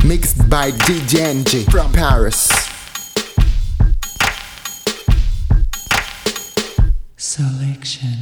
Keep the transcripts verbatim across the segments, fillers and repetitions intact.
Mixed by D J N G from Paris. Selection.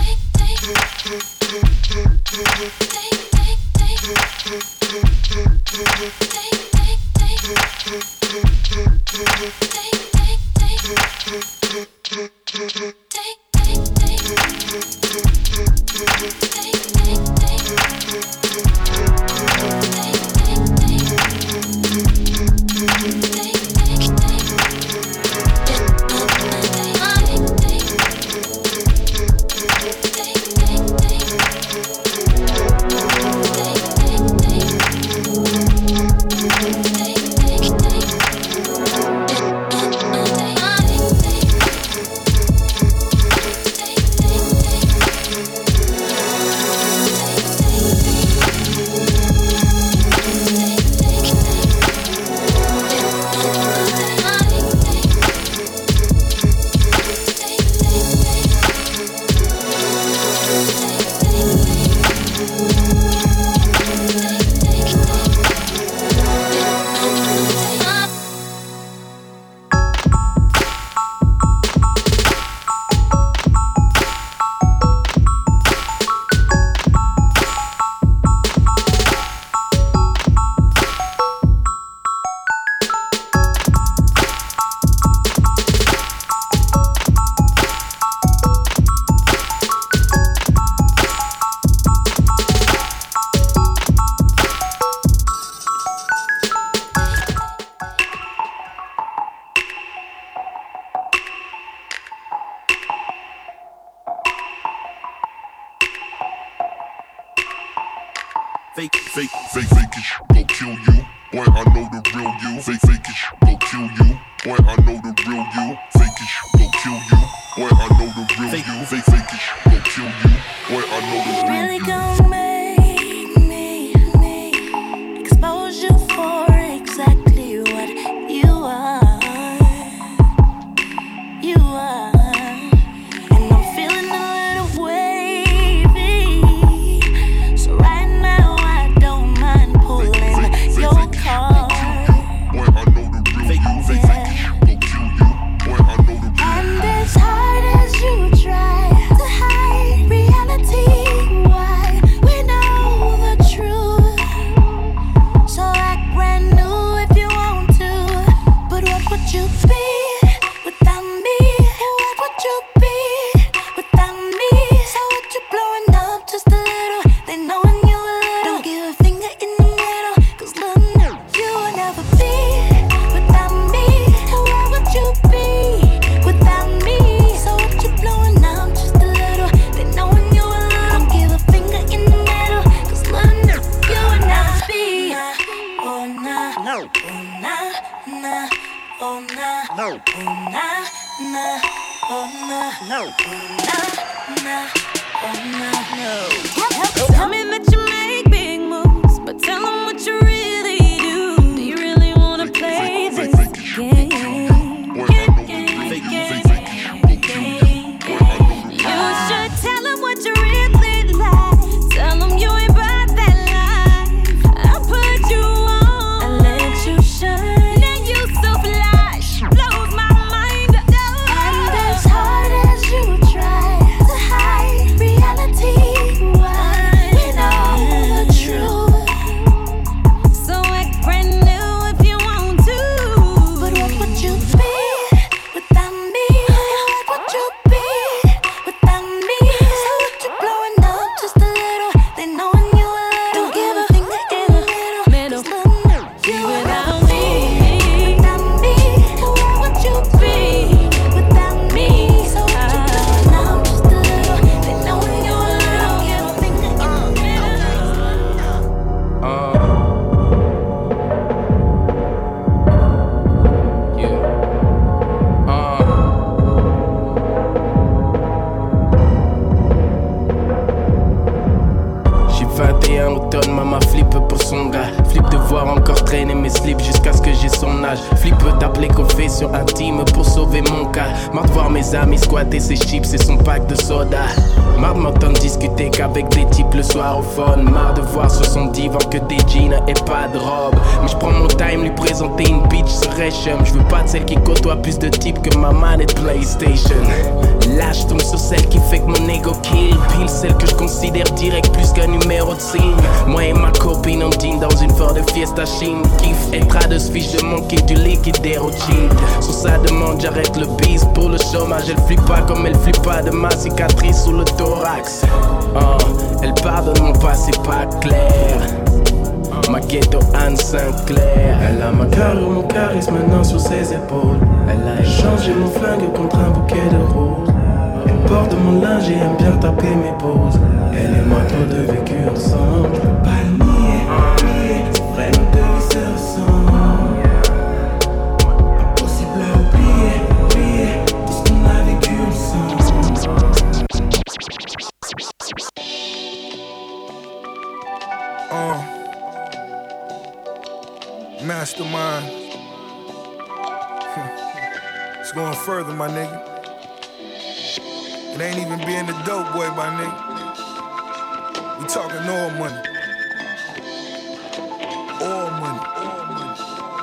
Fake, fake, fake, fake it, go kill you. Boy, I know the real you. Fake, fake it, go kill you. Boy, I know the real you. Fake it, go kill you. Boy, I know the real you. Fake, fake it, go kill you. Boy, I know the real really you. Gon' make me, me expose you for exactly what you are. You are. And I'm feeling a little wavy. So right now I don't mind pulling your car. Boy, I know the real you. Fake, fake it, go kill you. Boy, I know the real you. And as hard as you try to hide reality, why we know the truth. So act brand new if you want to. But what would you be without me? What would you be without me? So what you blowing up just a little? They knowing you a little. Don't give a finger in the middle. Cause little nigga, you will never be without me. What would you be without me? So what you blowing up just a little? They knowing you a little. Don't give a finger in the middle. Cause little nigga, you will never be. Oh nah, no, oh nah, nah, oh nah, no, oh nah, nah, oh nah, no, oh nah, nah, oh nah, no. Tell me that you make big moves, but tell them what you really do. Do you really wanna play this game? You should tell them what you really like. Tell them you ain't about that life. I put you on, I let you shine. Then you so flash, blows my mind. And as hard as you try to hide reality, why we know the truth. So act brand new if you want to. But what would you be without me? What would you be without me? So what you blowing up just a little? They knowing you a little. Don't give a finger in the middle. Cause little nigga, you without me. Without me, what would you be without me? So what you blowing up just a little? They knowing you a little. Don't give a finger in the middle. Uh, yeah. Uh. J'ai vingt et un automne, maman flippe pour son gars. Flippe de voir encore traîner mes slips jusqu'à ce que j'ai son âge. Flippe d'appeler confession intime pour sauver mon cas. Marre de voir mes amis squatter ses chips et son pack de soda. Marre de m'entendre discuter qu'avec des types le soir au phone. Marre de voir sur son divan que des jeans et pas de robe. Mais je prends mon time, lui présenter une bitch serait chum. Je veux pas de celle qui côtoie plus de types que ma manette PlayStation. Là je tombe sur celle qui fait que mon ego kill. Pile celle que je considère direct plus qu'un numéro de signe. Moi et ma copine on dîne dans une Ford de Fiesta Chine. Kiffe être à deux fiches de manquer du liquide d'héroïne. Sur sa demande j'arrête le bise pour le chômage. Elle flippe pas comme elle flippe pas de ma cicatrice sous le thorax. Oh, elle pardonne mon passé pas clair. Ma ghetto Anne Sinclair. Elle a ma carrure, mon charisme maintenant sur ses épaules. Elle a échangé mon flingue contre un bouquet de roses. Elle porte mon linge et aime bien taper mes poses. Elle et moi trop de vécu ensemble. Pas le nier, nier, c'est vrai nos deux vies se ressemblent. Impossible à oublier, oublier tout ce qu'on a vécu ensemble. Uh, mastermind. It's going further, my nigga. It ain't even being the dope boy, my nigga. We talking oil money. Oil money. Oil money.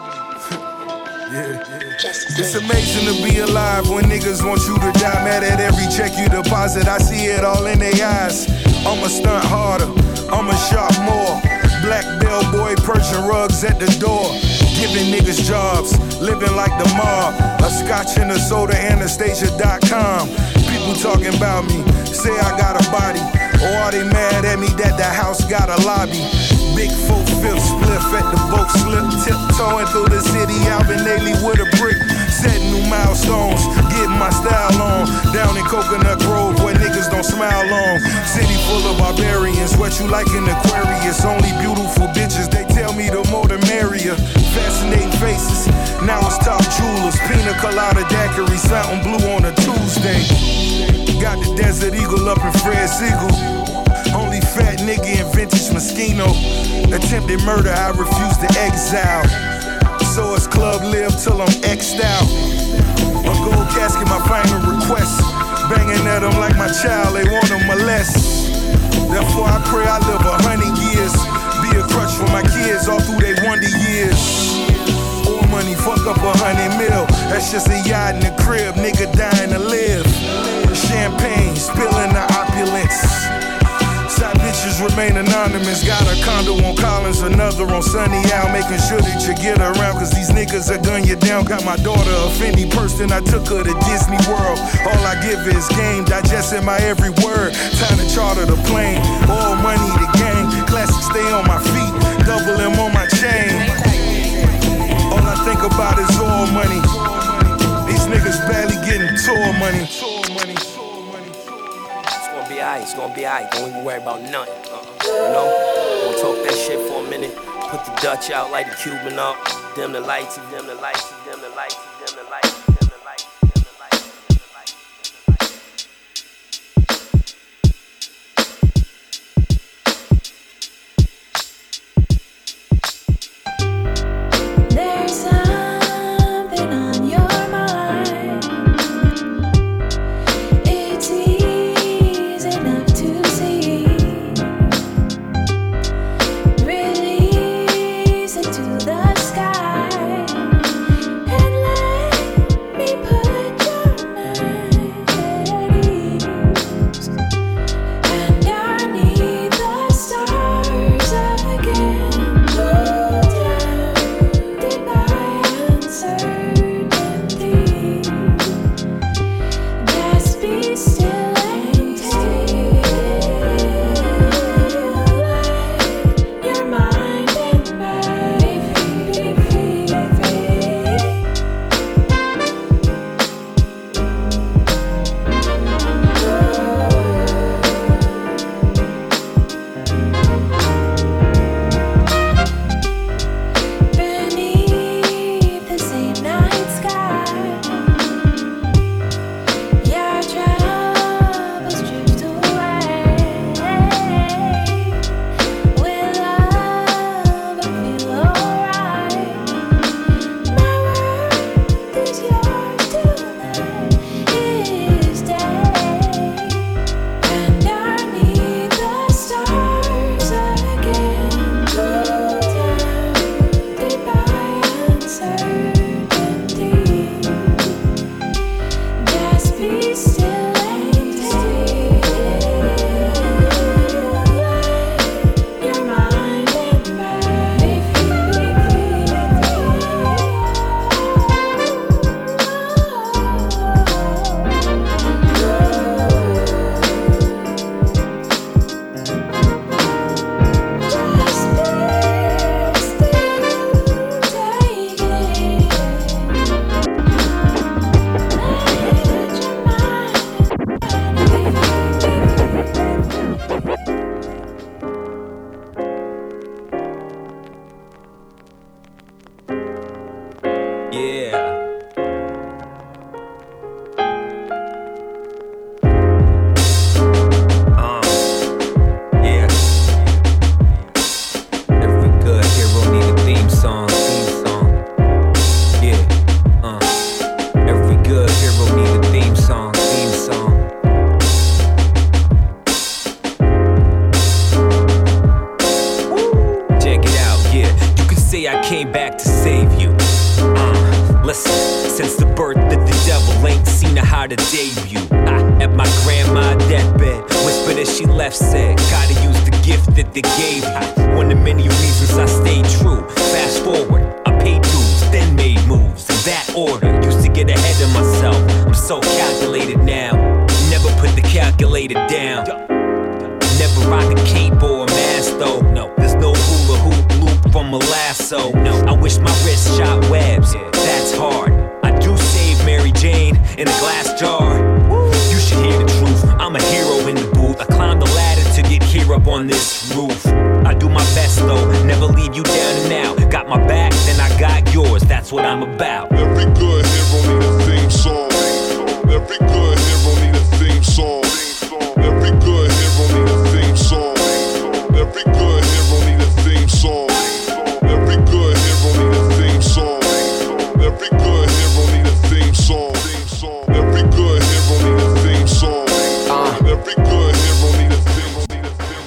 yeah, yeah. It's amazing to be alive when niggas want you to die. Mad at every check you deposit. I see it all in their eyes. I'ma stunt harder. I'ma shop more. Black bellboy perching rugs at the door. Giving niggas jobs, living like the mob. A scotch and a soda, Anastasia dot com. People talking about me, say I got a body. Or are they mad at me that the house got a lobby? Big four fifth spliff at the boat slip. Tiptoeing through the city, Alvin Ailey with a brick. Setting new milestones, getting my style on. Down in Coconut Grove where niggas don't smile long. City full of barbarians, what you like in Aquarius. Only beautiful bitches, they tell me the more the merrier. Fascinating faces, now it's top jewelers. Pina colada daiquiri, something blue on a Tuesday. Got the Desert Eagle up in Fred Siegel. Only fat nigga in vintage Moschino. Attempted murder, I refuse to exile. So it's club live till I'm X'd out. A gold casket, my final request. Banging at them like my child, they want to molest. Therefore I pray I live a hundred years. Be a crutch for my kids all through their wonder years. More money, fuck up a hundred mil. That's just a yacht in the crib, nigga dying to live. Champagne, spilling the opulence. Side bitches remain anonymous. Got a condo on Collins, another on Sunny Isle. Making sure that you get around, cause these niggas are gun you down. Got my daughter a Fendi purse, then I took her to Disney World. All I give is game, digesting my every word. Time to charter the plane, all money the gang. Classic stay on my feet, double M on my chain. All I think about is all money. These niggas barely getting tour money. Alright, it's gonna be alright, don't even worry about nothing. Uh-uh. You know, gonna talk that shit for a minute. Put the Dutch out, light the Cuban up. Dim the lights, dim the lights, dim the lights, dim the lights. To the sky and let she left said, gotta use the gift that they gave you. One of many reasons I stayed true. Fast forward, I paid dues, then made moves. In that order, used to get ahead of myself. I'm so calculated now. Never put the calculator down. Never rock a cape or a mask though. No, there's no hula hoop loop from a lasso. No, I wish my wrist shot webs. That's hard. I do save Mary Jane in a glass jar. You should hear the truth. I'm a hero in the booth. I climbed the ladder to get here up on this roof. I do my best though, never leave you down and out. Got my back, then I got yours. That's what I'm about. Every good hero need a theme song. Every good hero need a theme song. Every good hero need a theme song. Every good hero need a theme song. Every good hero need a theme song. Every good hero need a theme song. Every good hero need a theme song. Every good hero need a theme.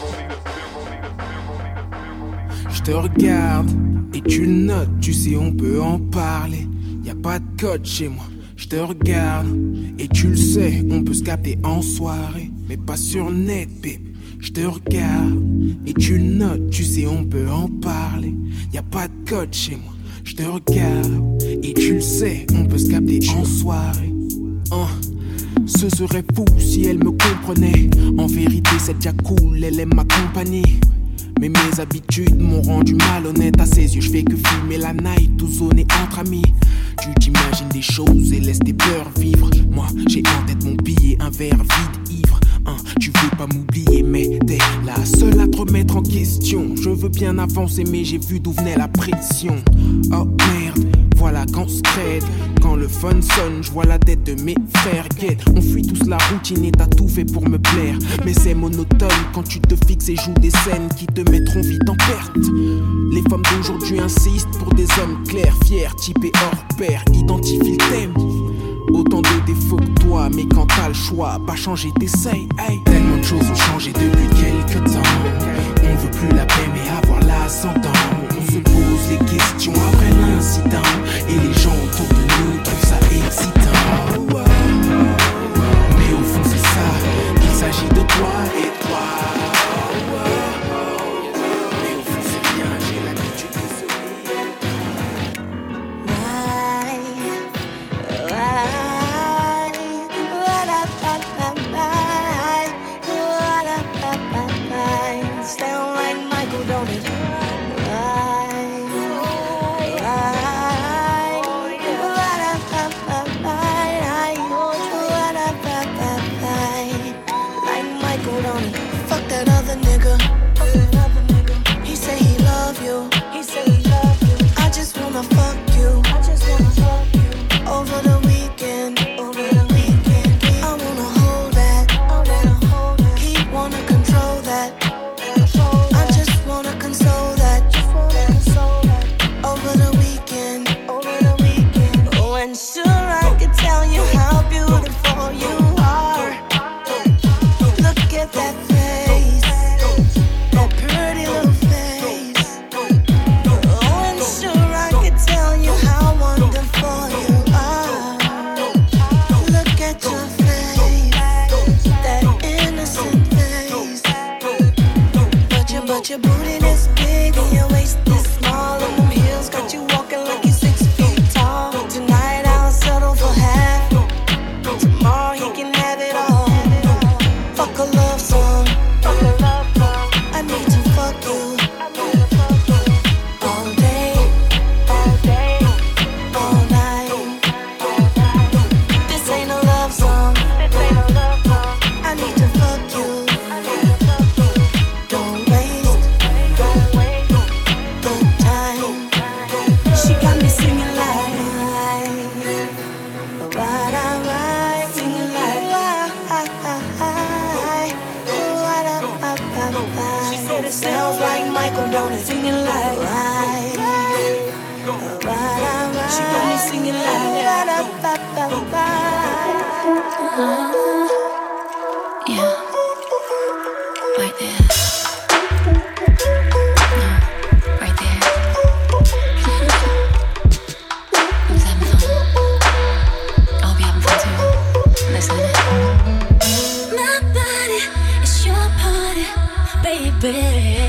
Je te regarde et tu le notes, tu sais on peut en parler. Y a pas de code chez moi. Je te regarde et tu le sais, on peut se capter en soirée, mais pas sur net, babe. Je te regarde et tu le notes, tu sais on peut en parler. Y a pas de code chez moi. Je te regarde et tu le sais, on peut se capter en soirée. Hein. Ce serait fou si elle me comprenait. En vérité c'est déjà cool, elle aime ma compagnie. Mais mes habitudes m'ont rendu malhonnête. À ses yeux je fais que fumer la night ou zoner entre amis. Tu t'imagines des choses et laisses tes peurs vivre. Moi j'ai en tête mon billet, un verre vide ivre. Hein, tu veux pas m'oublier mais t'es la seule à te remettre en question. Je veux bien avancer mais j'ai vu d'où venait la pression. Oh merde, voilà quand se crête. Quand le fun sonne, je vois la tête de mes frères. Get, on fuit tous la routine et t'as tout fait pour me plaire. Mais c'est monotone quand tu te fixes et joues des scènes qui te mettront vite en perte. Les femmes d'aujourd'hui insistent pour des hommes clairs, fiers, typés hors pair. Identifie le thème. Autant de défauts que toi, mais quand t'as le choix, pas changer, t'essayes. Hey. Tellement de choses ont changé depuis quelques temps. On veut plus la paix mais avoir l'ascendant. On se pose les questions après l'incident. Et les gens autour de nous trouvent ça excitant. Mais au fond c'est ça, il s'agit de toi et toi. Mais au fond c'est rien, j'ai l'habitude de sourire. Sound like Michael, don't it? Fuck that other nigga. He say he love you. I just wanna fuck you. Over the weekend. I wanna hold that. He wanna control that. I just wanna console that. Over the weekend. Oh, and sure I could tell you how beautiful you are. Look at that face, that pretty little face. Oh, and sure I could tell you how wonderful you are. Look at your face, that innocent face. But your, but your booty this big and your waist this small, and them heels got you walking like you're six feet tall. Tonight I'll settle for half. Tomorrow he can have it all. Fuck a love song. I need to fuck you. All day, all night. This ain't a love song. I need to fuck you. Don't waste the time. She got me singing like, right, right, singing like, she said it sounds like Michael, don't it? Singing like, right, right, right. She got me singing like, Uh, yeah, right there. No, right there. Who's having fun? I hope you're having fun too. Listen to it. My body is your part. nobody, baby.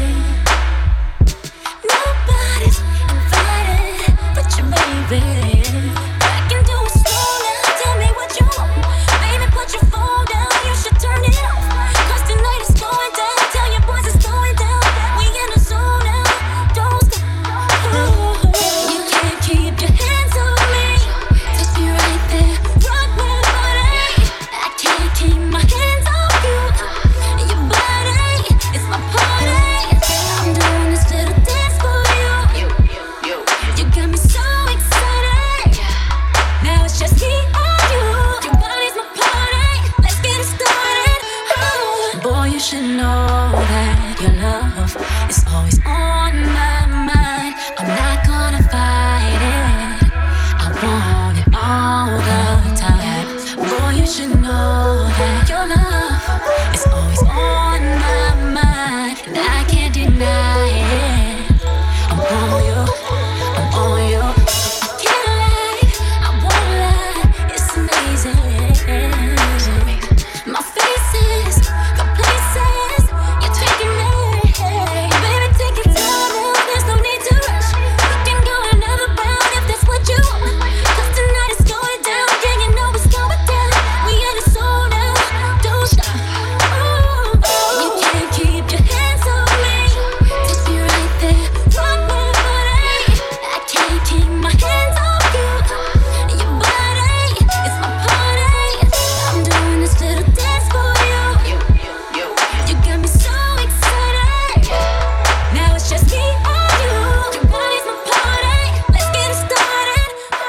Nobody's invited but your baby. I can do it slow now, tell me what you want. Baby, put your phone down, you should turn it off. Cause tonight is going down, tell your boys it's going down. We in the zone now, don't stop. Ooh, you can't keep your hands on me. Take me right there, rock my body. I can't keep my hands off you. Your body, it's my party. I'm doing this little dance for you. You got me so excited. Now it's just me and you. Your body's my party. Let's get it started. Oh. Boy, you should know that your love is always on my mind. I'm not gonna fight it. I want it all the time. Boy, you should know that your love is always on my mind, and I can't deny it. I'm on you, I'm on you. Can't lie, I won't lie. It's amazing. My faces, the places you're taking me. Baby, take your time now. There's no need to rush. We can go another round if that's what you want. 'Cause tonight is going down. Yeah, you know it's going down. We in the zone now. Don't stop. Ooh, you can't keep your hands on me. Take me right there, rock my body. I can't keep my hands off you. Your body, it's my party. I'm doing this little dance for you. You got me so excited. Now it's just me and you. Your body's my party. Let's get it started.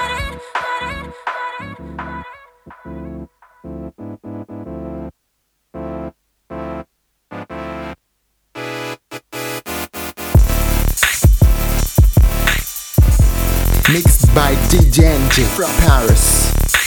Mixed by D J N J from Paris.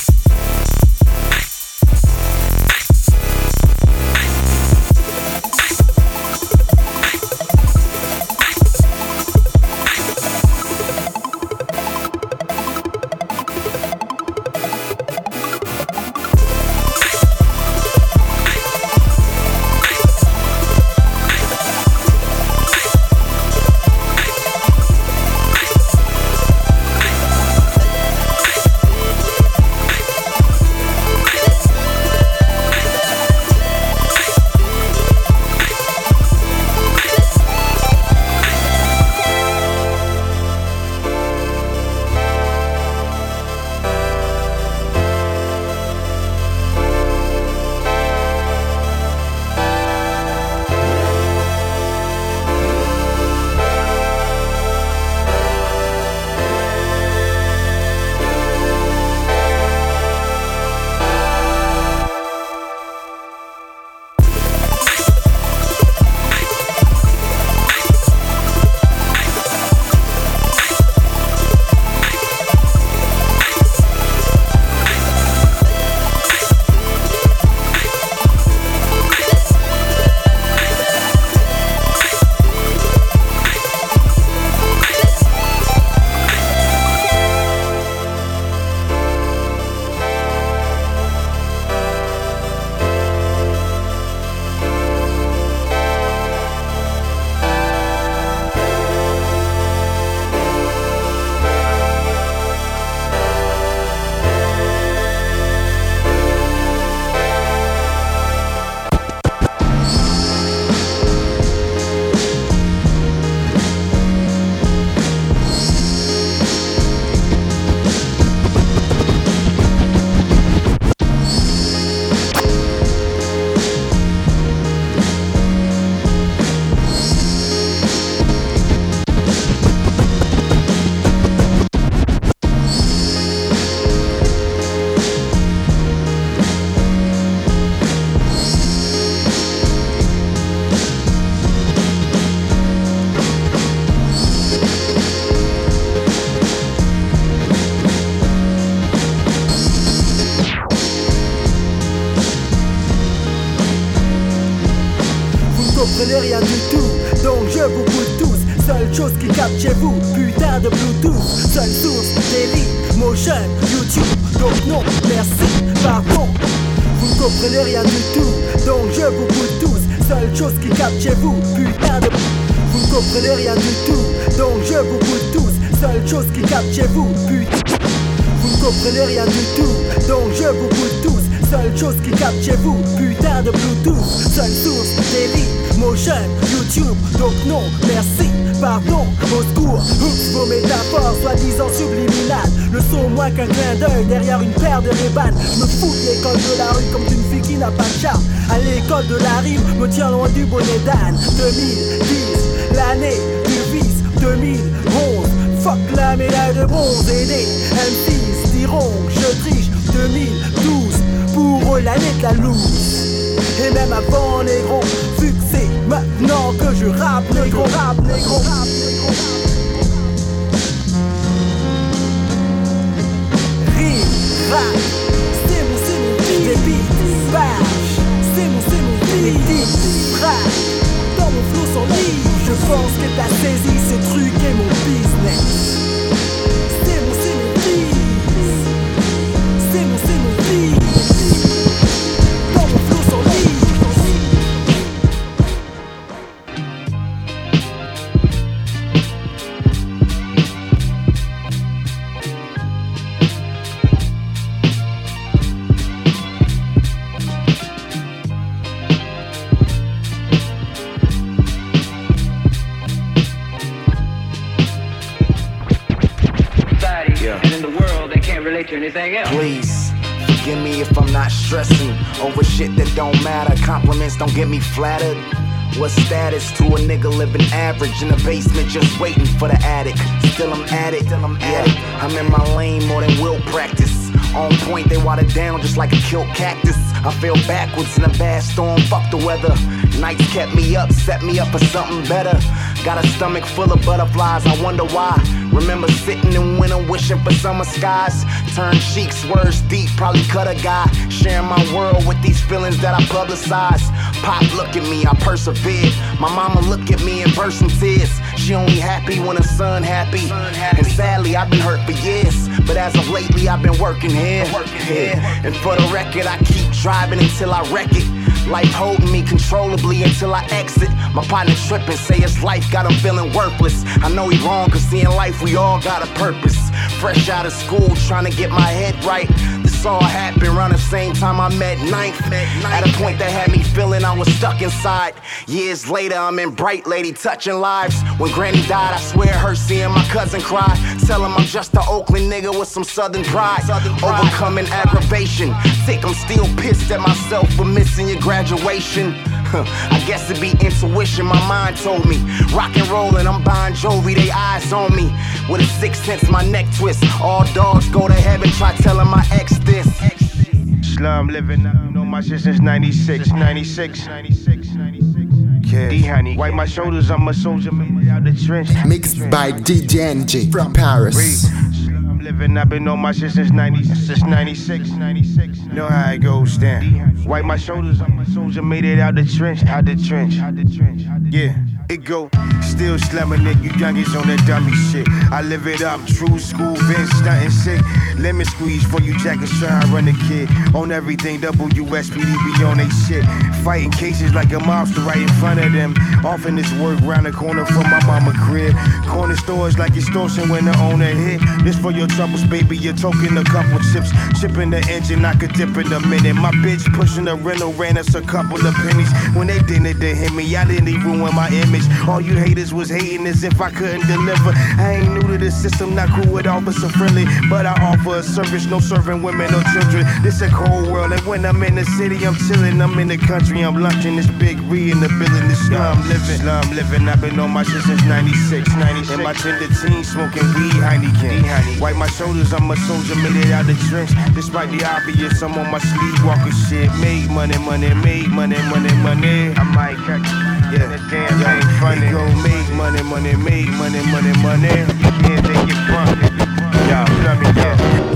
comprenez rien du tout, donc je vous pousse tous. Seule chose qui capte chez vous, putain de Bluetooth. Seule source, Daily, Motion, YouTube. Donc non, merci, pardon. Vous ne comprenez rien du tout, donc je vous pousse tous. seule chose qui capte chez vous, putain de... Vous ne comprenez rien du tout, donc je vous goûte tous. Seule chose qui capte chez vous, putain. Vous ne comprenez rien du tout, donc je vous goûte tous. Seule chose qui capte chez vous, putain de Bluetooth. Seule source, Daily, Motion, YouTube. Donc non, merci, pardon, au secours. Oups, vos métaphores, soi-disant subliminales, ne sont moins qu'un clin d'œil derrière une paire de Ray-Ban. Je me fous de l'école de la rue comme d'une fille qui n'a pas de charme. À l'école de la rime, me tient loin du bonnet d'âne. deux mille dix, l'année du vice. deux mille onze, fuck la médaille de bronze. Et les M Cs diront que je triche. deux mille douze, pour eux l'année de la loose. Et même avant négro, vu que c'est maintenant que je rappe négro, rap négro, rap négro. Rime, rap, c'est mon, c'est mon beat. Des beats, bash, c'est mon, c'est mon beat. Des beats, rap, dans mon flow sans lit. Je pense que t'as saisi ce truc est mon business. C'est mon, c'est mon beat. C'est mon, c'est mon beat. Dans mon flow sans lit. To anything else. Please forgive me if I'm not stressing over shit that don't matter. Compliments don't get me flattered. What status to a nigga living average in the basement just waiting for the attic? Still I'm at it, still I'm at it. I'm in my lane more than will practice. On point, they water down just like a killed cactus. I fell backwards in a bad storm, fuck the weather. Nights kept me up, set me up for something better. Got a stomach full of butterflies, I wonder why. Remember sitting in winter wishing for summer skies. Turn cheeks, words deep, probably cut a guy. Sharing my world with these feelings that I publicize. Pop, look at me, I persevered. My mama look at me and burst in tears. She only happy when her son happy. And sadly, I've been hurt for years. But as of lately, I've been working here. Yeah. And for the record, I keep driving until I wreck it. Life holding me controllably until I exit. My partner tripping, say his life got him feeling worthless. I know he wrong, cause see in life we all got a purpose. Fresh out of school, trying to get my head right. This all happened around the same time I met ninth. At a point that had me feeling I was stuck inside. Years later, I'm in Bright Lady, touching lives. When Granny died, I swear her seeing my cousin cry. Tell him I'm just an Oakland nigga with some southern pride. Overcoming aggravation. Think I'm still pissed at myself for missing your graduation. I guess it'd be intuition, my mind told me. Rock and rollin', I'm Bon Jovi, they eyes on me. With a sixth sense, my neck twist. All dogs go to heaven, try telling my ex this. Slum living, I know my shit since ninety-six, ninety-six, ninety-six, ninety-six. Yeah. D-Honey, wipe my shoulders, I'm a soldier, made it out the trench. Mixed by D J N J from Paris. Slum living, I've been on my shit since ninety, since ninety-six, ninety-six. Know how it goes down. Wipe my shoulders, I'm a soldier, made it out the trench, out the trench, out the trench. Yeah. It go, still slamming it, you youngins on that dummy shit. I live it up, true school, Vince stunting sick. Lemon squeeze for you jackets trying to run the kid. On everything, W S P D be on they shit. Fighting cases like a mobster right in front of them. Offering this work round the corner from my mama crib. Corner stores like extortion when the owner hit. This for your troubles, baby, you're talking a couple chips. Chipping the engine, I could dip in a minute. My bitch pushing the rental, ran us a couple of pennies. When they didn't, they hit me, I didn't even ruin my image. All you haters was hating as if I couldn't deliver. I ain't new to the system, not cool with officer friendly, but I offer a service, no serving women or children. This a cold world, and when I'm in the city, I'm chilling. I'm in the country, I'm lunching. This big re in the building, this slum living, slum living. I've been on my shit since ninety-six, ninety-six. In my tender teens, smoking weed, Heineken. Wipe my shoulders, I'm a soldier, made it out the trench. Despite the obvious, I'm on my sleepwalker shit. Make money, money, make money, money, money. I might catch. Yeah, damn, that ain't funny. Go make money, money, make money, money, money. You can't take it from me. Yeah, let me go.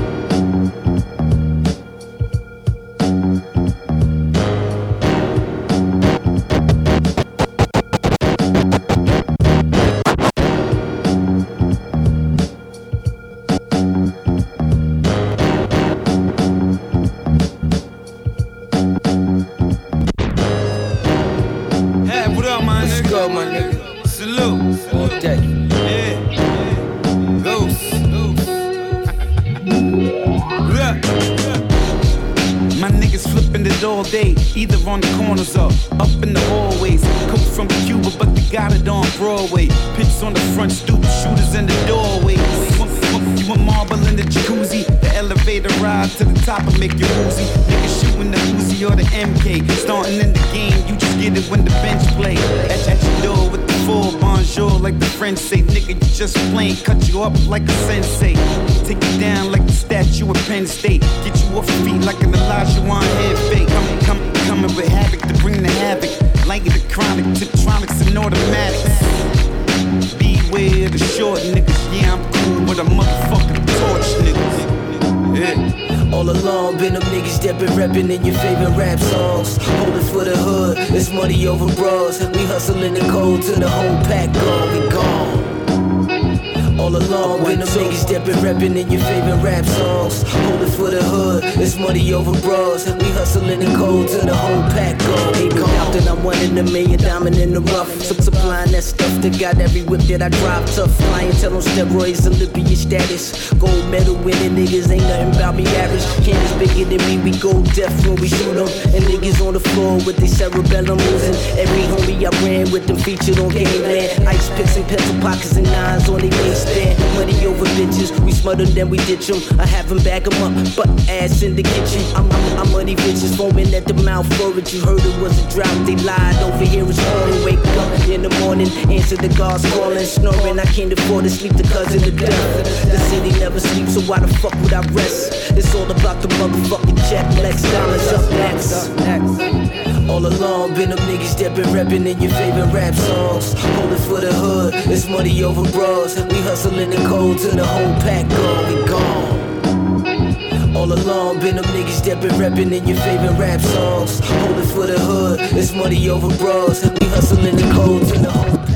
What's good, my nigga? Salute. All day. Yeah. Ghost. My niggas flipping it all day, either on the corners or up in the hallways. Cook from Cuba, but they got it on Broadway. Pitch on the front stoop, shooters in the doorway. You want marble in the jacuzzi, the elevator ride to the top and make you woozy. Niggas shooting the Uzi or the M K. Starting in the game, you just get it when the bench play. At, at your door with the full bonjour, like the French say. Nigga, you just plain, cut you up like a sensei. Take you down like the statue of Penn State. Get you off your feet like an Elijah Wan head fake. Coming, coming, coming with havoc to bring the havoc. Like the chronic, tiptronics and automatics. Beware the short niggas, yeah, I'm cool, but a motherfucking torch niggas. Yeah. All along, been them niggas that been rapping in your favorite rap songs. Holding for the hood, it's money over bras. We hustling the cold till the whole pack gone, we gone. All along, been them niggas that been rapping in your favorite rap songs. Holding for the hood, it's money over bras. We hustling the cold till the whole pack gone. Ain't no doubt that I'm one in a million, diamond in the rough. Some supplying that stuff that got every whip that I drive tough. Clientele on steroids, Olympian status. Gold medal winning niggas ain't nothing about me average. Cannons bigger than me, we go deaf when we shoot them. And niggas on the floor with their cerebellum losing. Every homie I ran with them featured on Gangland. Ice picks and pencil pockets and nines on their waistband. Money over bitches, we smother them, then we ditch them. I have them bag them up, but ass in the kitchen. I'm, I'm, I'm money bitches foaming at the mouth for it. You heard it was a drought, they lied. Over here it's pouring. Wake up in the morning, answer the guards calling, snoring. I can't afford to sleep the cousin of death. The city never sleeps, so why the fuck would I rest? It's all about the motherfucking check. Lex dollars up next. All along, been them niggas that been rapping in your favorite rap songs. Holding for the hood, it's money over bras. We hustling the cold till the whole pack gone, we gone. All along, been them niggas that been rapping in your favorite rap songs. Holding for the hood, it's money over bras. We hustling the cold till the whole pack.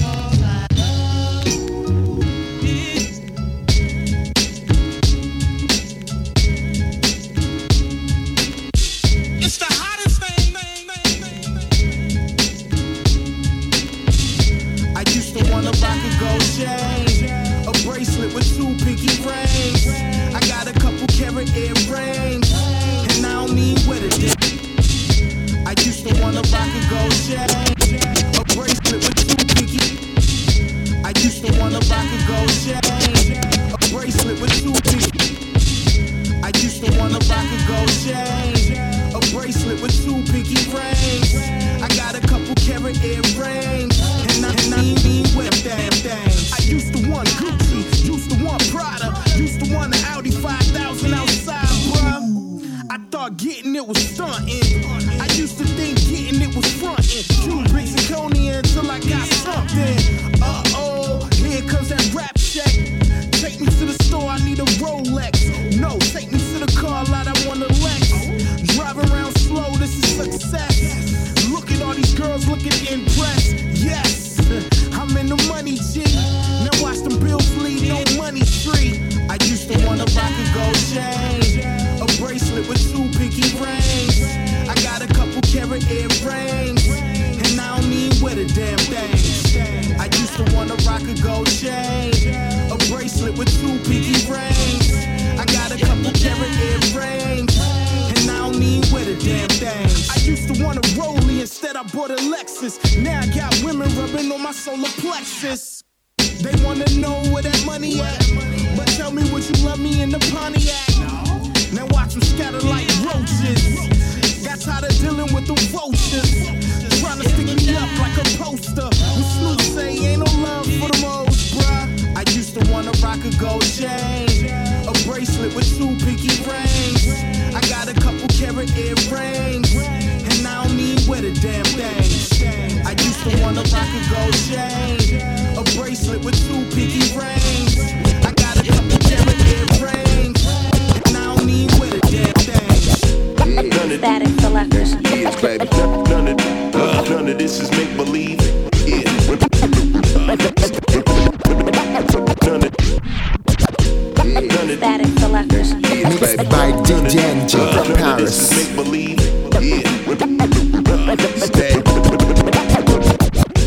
Mixed by D J N G from Paris.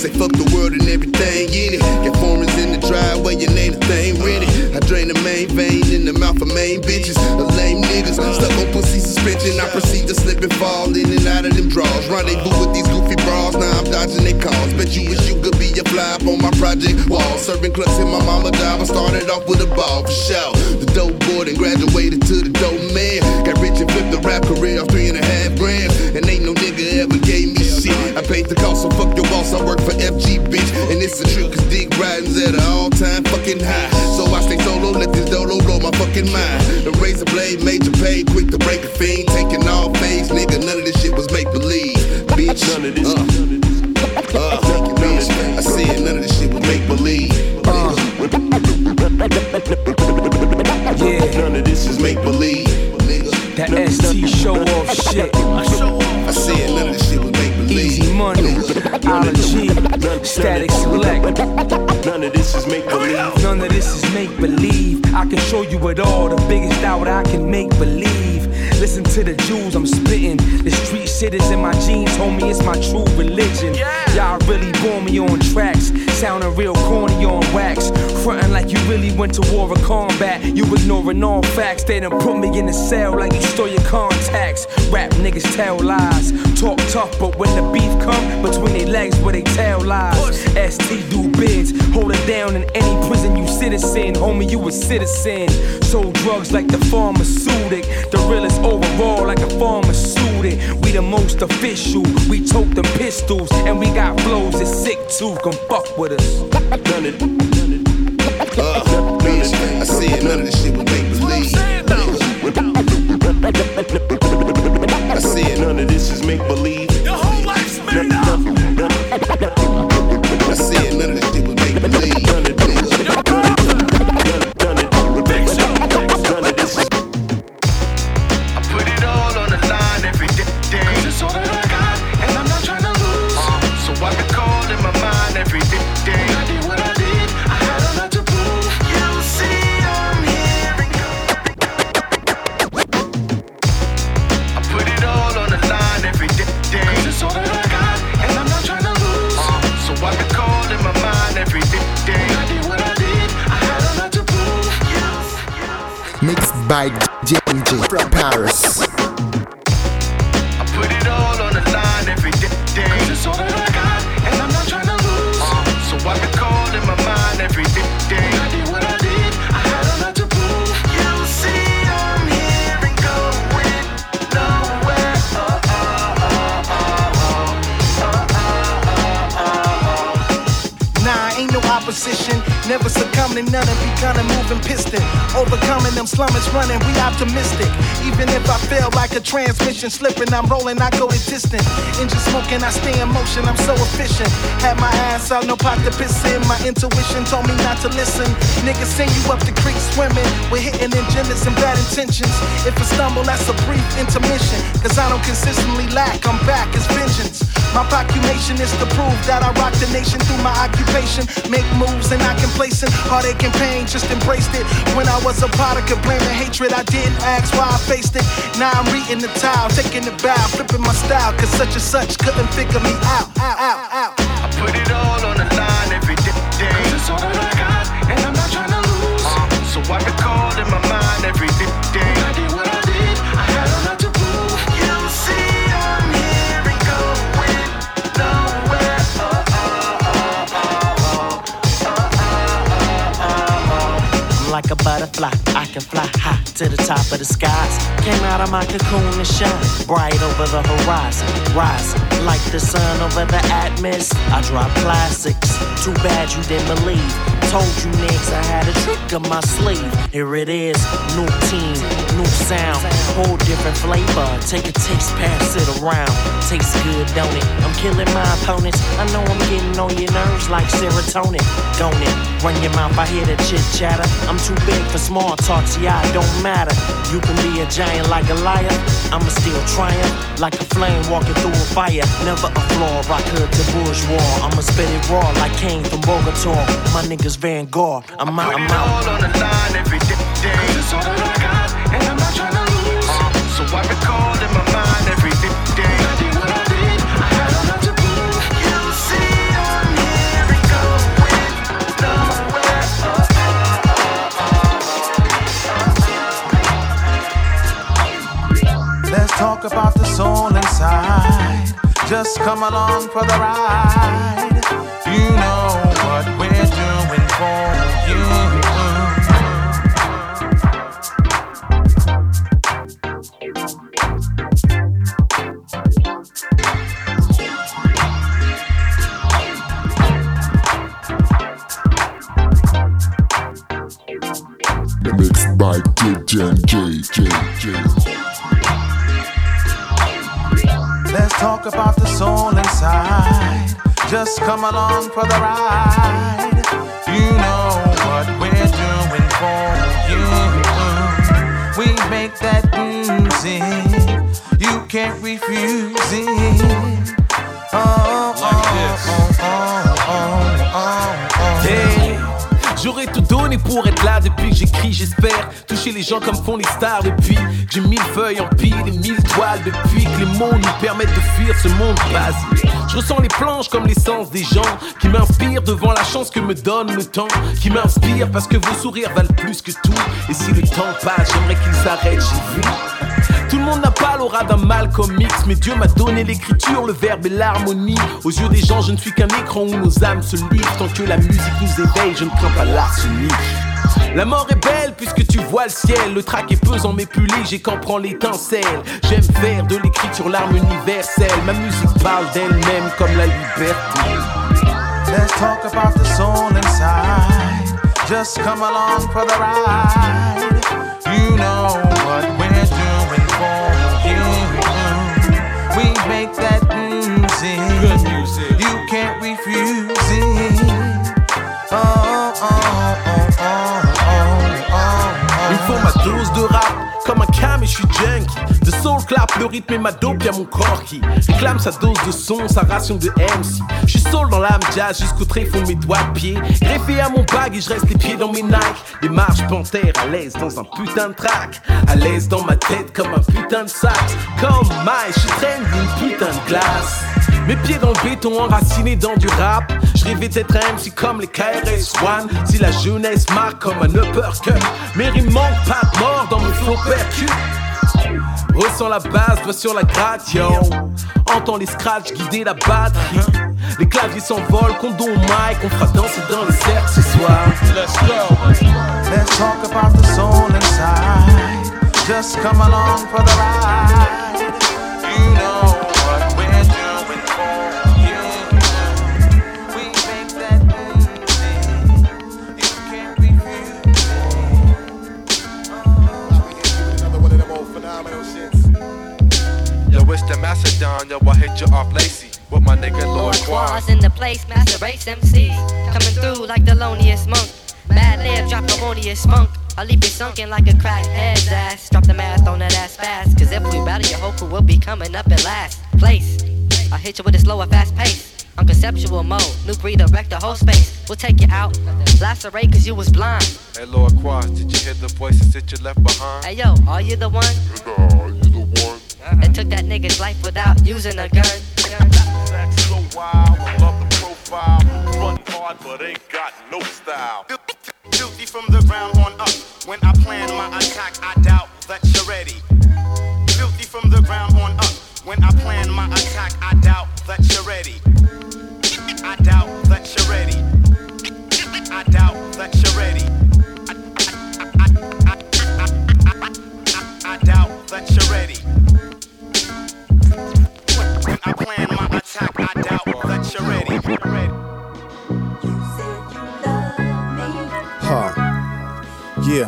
Say fuck the world and everything in it. Got foreigners in the driveway and ain't a thing rented. I drain the main vein in the mouth of main bitches. The lame niggas stuck on pussy suspension. I proceed to slip and fall in and out of them draws. Rendezvous with these goofy bras, now I'm dodging their calls. Bet you wish you could be a fly up on my project wall. Serving clubs in my mama job. I started off with a ball for sure. The dope boy and graduated to the dope man. Got rich and flipped the rap career off three and a half grand. And ain't no nigga ever gave me shit. I paid the cost, so fuck your boss. I work for F G, bitch. And it's a trip, cause dick riding's at an all-time fucking high. So I stay solo, let this dolo blow my fucking mind. The razor blade, major pay, quick to break a fiend. Taking all phase, nigga, none of this shit was make-believe. Bitch, none of this, uh, uh, bitch, I said none of this shit was make-believe. Uh. Yeah, none of this is make-believe. That S T show-off shit. I said none of this shit was make-believe. Easy money, Ology, Static Select. None of this is make-believe. None of this is make-believe. I can show you it all, the biggest out I can make believe. Listen to the jewels I'm spitting. The street shit is in my genes, homie, it's my true religion. Y'all really bore me on tracks, sounding real corny on wax. Frontin' like you really went to war or combat. You ignoring all facts, they done put me in the cell like you stole your contacts. Rap niggas tell lies, talk tough, but when the beef come between their legs where they tell lies. S T do bids, hold it down in any prison you citizen. Homie, you a citizen. Sold drugs like the pharmaceutic, the realest overall like a pharmaceutic. We the most official, we tote them pistols, and we got flows that's sick too. Come fuck with us. None of, none of, uh, bitch, I said none of this shit was make-believe. I said none of this is make-believe. Your whole life's made up. I said none of this shit was make-believe. None of this. By D J from Paris. I put it all on the line every day. Cause it's all that I got, and I'm not trying to lose. Uh, so I recall in my mind every day. I did what I did, I had a lot to prove. You see, I'm here and going nowhere. Oh, oh, oh, oh, oh, oh, oh, oh. Nah, ain't no opposition. Never succumbing to none and becoming moving piston. Overcoming them slummers running, we optimistic. Even if I feel like a transmission slipping, I'm rolling, I go the distant. Engine smoking, I stay in motion, I'm so efficient. Had my ass out, no pot to piss in. My intuition told me not to listen. Niggas send you up the creek swimming with hitting agendas and bad intentions. If I stumble, that's a brief intermission. Cause I don't consistently lack, I'm back, it's vengeance. My proclamation is to prove that I rock the nation through my occupation. Make moves and I complacent. Heartache and pain, just embraced it. When I was a product of blame and hatred, I didn't ask why I faced it. Now I'm reading the towel, taking the bow, flipping my style. Cause such and such couldn't figure me out, out, out, out. I put it all on the line every day. Cause it's all that I got, and I'm not trying to lose. Uh, so I recall in my mind every day. I did what I did, I had a lot to prove. You see, I'm here and going nowhere. Oh, oh, oh, oh, oh, oh, oh, oh. I'm like a butterfly, I can fly high to the top of the skies. Came out of my cocoon and shine bright over the horizon. Rising like the sun over the atmosphere. I drop classics, too bad you didn't believe. Told you niggas I had a trick up my sleeve. Here it is, new team, new sound, whole different flavor. Take a taste, pass it around. Tastes good, don't it? I'm killing my opponents. I know I'm getting on your nerves like serotonin. Don't it? Run your mouth, I hear the chit chatter. I'm too big for small talks, yeah, it don't matter. You can be a giant like a liar. I'ma still triumph like a flame walking through a fire. Never a flaw, rock hood to bourgeois. I'ma spit it raw like Kane from Bogota. My niggas Van Gogh. I'm out, I'm out. Put it all on the line every day. Cause it's all that I got, and I'm not trying to lose. Uh, so I recall in my mind every day. I did what I did, I had a lot to prove. You see, I'm talk about the soul inside. Just come along for the ride. You know what we're doing for you. Mixed by D J J J J. Let's talk about the soul inside. Just come along for the ride. You know what we're doing for you. We make that music, you can't refuse it. Oh, oh, oh, oh, oh, oh, oh. Hey. J'aurais tout donné pour être là depuis que j'écris, j'espère toucher les gens comme font les stars. Depuis que j'ai mille feuilles en pile et mille toiles, depuis que les mots nous permettent de fuir ce monde basique. Je ressens les planches comme l'essence des gens qui m'inspirent devant la chance que me donne le temps. Qui m'inspire parce que vos sourires valent plus que tout. Et si le temps passe, j'aimerais qu'il s'arrête, j'ai vu. Tout le monde n'a pas l'aura d'un Malcolm X, mais Dieu m'a donné l'écriture, le verbe et l'harmonie. Aux yeux des gens, je ne suis qu'un écran où nos âmes se livrent. Tant que la musique nous éveille, je ne crains pas l'arsenic. La mort est belle puisque tu vois le ciel. Le trac est pesant mais plus léger qu'en prend l'étincelle. J'aime faire de l'écriture l'arme universelle. Ma musique parle d'elle-même comme la liberté. Let's talk about the soul inside. Just come along for the ride. You know what we're doing for you. We make that music, good music. You can't refuse it. Oh, oh, oh, oh, oh, oh, oh. Il me faut ma dose de rap, comme un cam et je suis junkie. De soul clap, le rythme et ma dope, y'a mon corps qui réclame sa dose de son, sa ration de M C. Je suis soul dans l'âme jazz jusqu'au tréfonds de mes doigts de pied. Greffé à mon bag et je reste les pieds dans mes Nike. Des marches panthères à l'aise dans un putain de track. À l'aise dans ma tête comme un putain de sax. Comme Mike, je suis traîne d'une putain de glace. Mes pieds dans le béton enracinés dans du rap. Je rêvais d'être un M C comme les K R S One. Si la jeunesse marque comme un uppercut, mais il manque pas de mort dans mes flots percus. Ressens la base, doigt sur la gratte, yo. Entends les scratchs guider la batterie. Les claviers s'envolent, condom au mic. On fera danser dans le cercle ce soir. Let's go. Let's talk about the soul inside. Just come along for the ride. You know what we're doing for you. We make that music, you can't refuse it. Another one of them old phenomenal shits. Yo, it's the Macedon, yo, I hit you off Lacey with my nigga Lord Quaz. In the place, Master Race M Cs coming through like the loneliest monk. Mad lib, drop harmonious funk. I'll leave you sunken like a crackhead's ass. Drop the math on that ass fast. Cause if we battle, your whole crew will be coming up in last place. I'll hit you with a slower, fast pace. On conceptual mode, new breed, wreck the whole space. We'll take you out, lacerate cause you was blind. Hey Lord Quaz, did you hear the voices that you left behind? Hey yo, are you the one? Are you the one? That took that nigga's life without using a gun. That's so wild, I love the profile. Run hard but ain't got no style. Filthy from the ground on up. When I plan my attack, I doubt that you're ready. Filthy from the ground on up. When I plan my attack, I doubt that you're ready. I doubt that you're ready. I doubt that you're ready. I, I, I, I, I doubt that you're ready. When I plan my attack, I doubt that you're ready. Ah, yeah.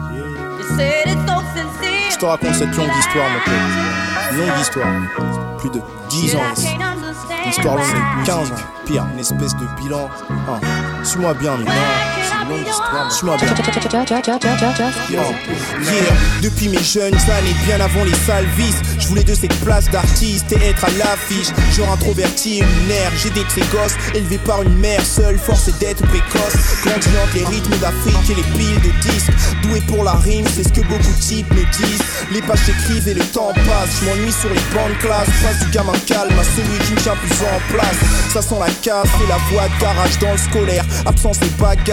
Je te raconte cette longue histoire, mon pote. Longue histoire. Plus de dix ans ici. Une histoire longue de quinze ans. Pire, une espèce de bilan. Ah, suis-moi bien, mais non. C'est une longue histoire. Suis-moi bien. Oh, yeah. Depuis mes jeunes années, bien avant les salvis, je voulais de cette place d'artiste et être à l'affiche. Genre introverti et lunaire, j'ai des trégosses élevés par une mère seule, forcé d'être précoce. Grandi entre les rythmes d'Afrique et les piles de disques. Doué pour la rime, c'est ce que beaucoup de types me disent. Les pages s'écrivent et le temps passe. Je m'ennuie sur les bancs de classe. Passe du gamin calme à celui qui me tient plus en place. Ça sent la casse et la voix de garage dans le scolaire. Absence et bagarre, donc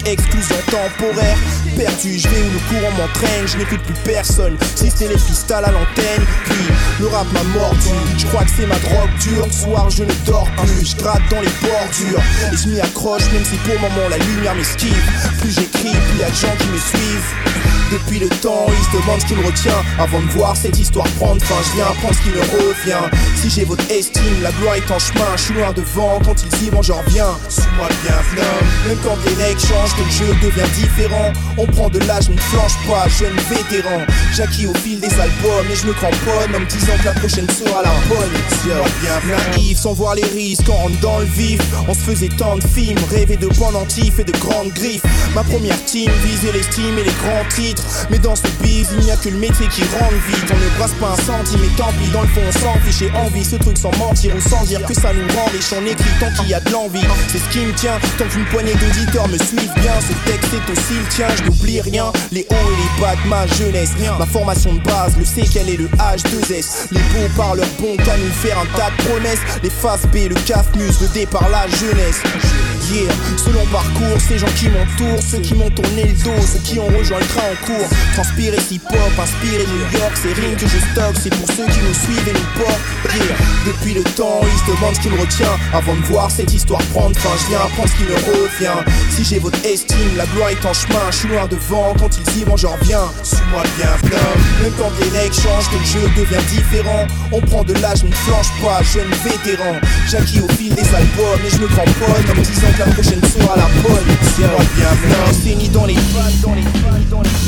exclusion temporaire. Perdu, je vais où le courant m'entraîne, je n'écoute plus personne. Si c'était les pistales à l'antenne, puis le rap m'a mordu. Je crois que c'est ma drogue dure, le soir je ne dors plus. Je gratte dans les bordures et je m'y accroche, même si pour le moment la lumière m'esquive. Plus j'écris, plus y a de gens qui me suivent. Depuis le temps, ils se demandent ce qui me retient. Avant de voir cette histoire prendre fin, je viens prendre ce qui me revient. Si j'ai votre estime, la gloire est en chemin. Je suis loin devant, quand ils y vont, j'en reviens. Suis-moi bien, flamme. Même quand les règles changent, que le jeu devient différent. On prend de l'âge, mais ne flanche pas, jeune vétéran. J'acquis au fil des albums et je me cramponne en me disant que la prochaine sera la bonne. Suis-moi bien, naïf, sans voir les risques, on rentre dans le vif. On se faisait tant de films, rêver de pendentifs et de grandes griffes. Ma première team visait l'estime et les grands titres. Mais dans ce bise, il n'y a que le métier qui rentre vite. On ne brasse pas un centime et tant pis, dans le fond on s'en fiche et envie. Ce truc sans mentir ou sans dire que ça nous rend riche. On écrit tant qu'il y a de l'envie, c'est ce qui me tient. Tant qu'une poignée d'auditeurs me suivent bien. Ce texte est aussi le tien, je n'oublie rien. Les hauts et les bas de ma jeunesse. Ma formation de base, le C quel est le H deux S. Les beaux parleurs bons qu'à nous faire un tas de promesses. Les faces B, le C A F Muse, le D par la jeunesse. Yeah, selon parcours, ces gens qui m'entourent, ceux qui m'ont tourné le dos, ceux qui ont rejoint le train en cours. Transpirer hip-hop, inspiré New York, ces rimes que je stocke, c'est pour ceux qui nous suivent et nous portent. Yeah. Depuis le temps, ils se demandent ce qui me retient. Avant de voir cette histoire prendre fin, je viens apprendre ce qui me revient. Si j'ai votre estime, la gloire est en chemin. Je suis loin devant, quand ils y vont, j'en reviens. Suis-moi bien, flamme. Même quand les règles changent, que le jeu devient différent. On prend de l'âge, mais ne flanche pas, jeune vétéran. J'acquis au fil des albums et je me cramponne en me disant que la prochaine sera la bonne. Suis-moi bien, flamme. C'est ni dans les balles, dans les balles, dans les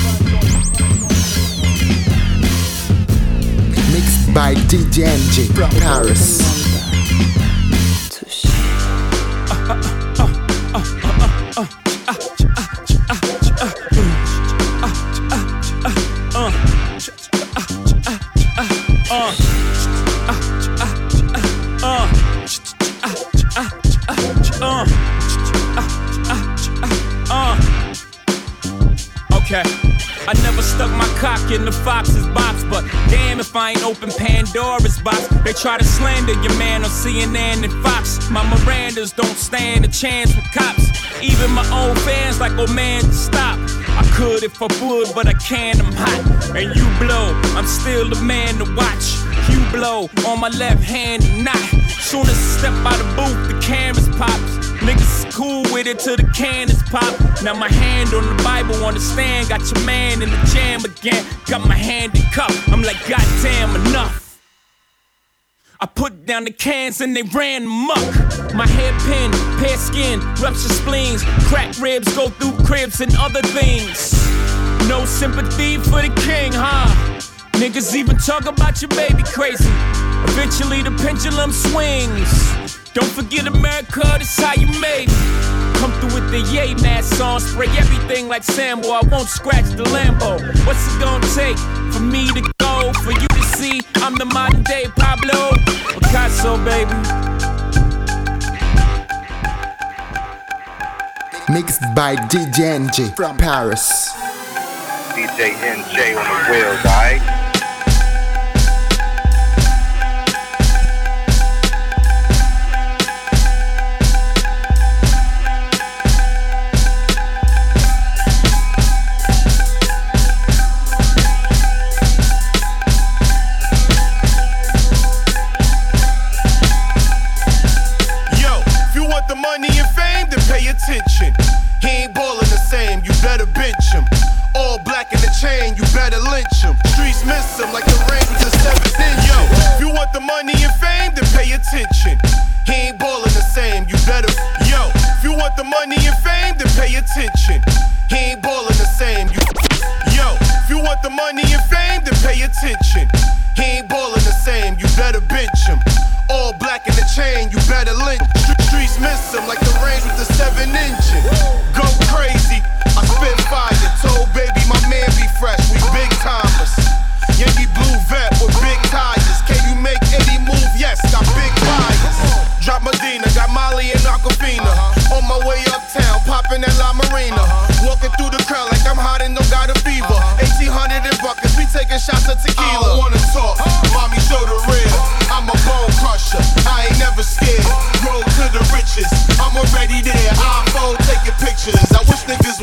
Mixed by D J N J from Paris. Okay. I never stuck my cock in the fox's box, but damn if I ain't open Pandora's box. They try to slander your man on C N N and Fox. My Mirandas don't stand a chance with cops. Even my own fans like, oh man, stop. I could if I would, but I can't, I'm hot. And you blow, I'm still the man to watch. You blow on my left hand and not. Soon as I step out the booth, the cameras pops. Niggas is cool with it till the cannons pop. Now my hand on the Bible on the stand. Got your man in the jam again. Got my hand in cup. I'm like, goddamn, enough. I put down the cans and they ran amok. My hairpin, pear skin, rupture spleens. Crack ribs go through cribs and other things. No sympathy for the king, huh? Niggas even talk about your baby crazy. Eventually the pendulum swings. Don't forget America, this how you made me. Come through with the yay mask on, spray everything like Sambo. I won't scratch the Lambo. What's it gonna take for me to go? For you to see I'm the modern day Pablo Picasso, baby. Mixed by D J N J from Paris. D J N J on the wheels, alright? Attention. He ain't ballin' the same, you better bench him. All black in the chain, you better lynch him. Streets miss him like the rain was a seventh inch. Yo, if you want the money and fame, then pay attention. He ain't ballin' the same, you better. Yo, if you want the money and fame, then pay attention. He ain't ballin' the same, you. Yo, if you want the money and fame, then pay attention. He ain't ballin' the same, you better bench him. All black in the chain, you better lynch. Streets miss him like the range with the seven engine. Go crazy, I spit fire. Told baby my man be fresh, we big timers. Yankee blue vet with big tires. Can you make any move? Yes, got big tires. Drop Medina, got Molly and Aquafina. On my way uptown, popping at La Marina. Walking through the crowd like I'm hot and no got a fever. eighteen hundred in buckets, we taking shots of tequila. I don't wanna talk, mommy show the real. I'm a bone crusher, I ain't never scared. Roll to the riches, I'm already there. iPhone taking pictures. I wish niggas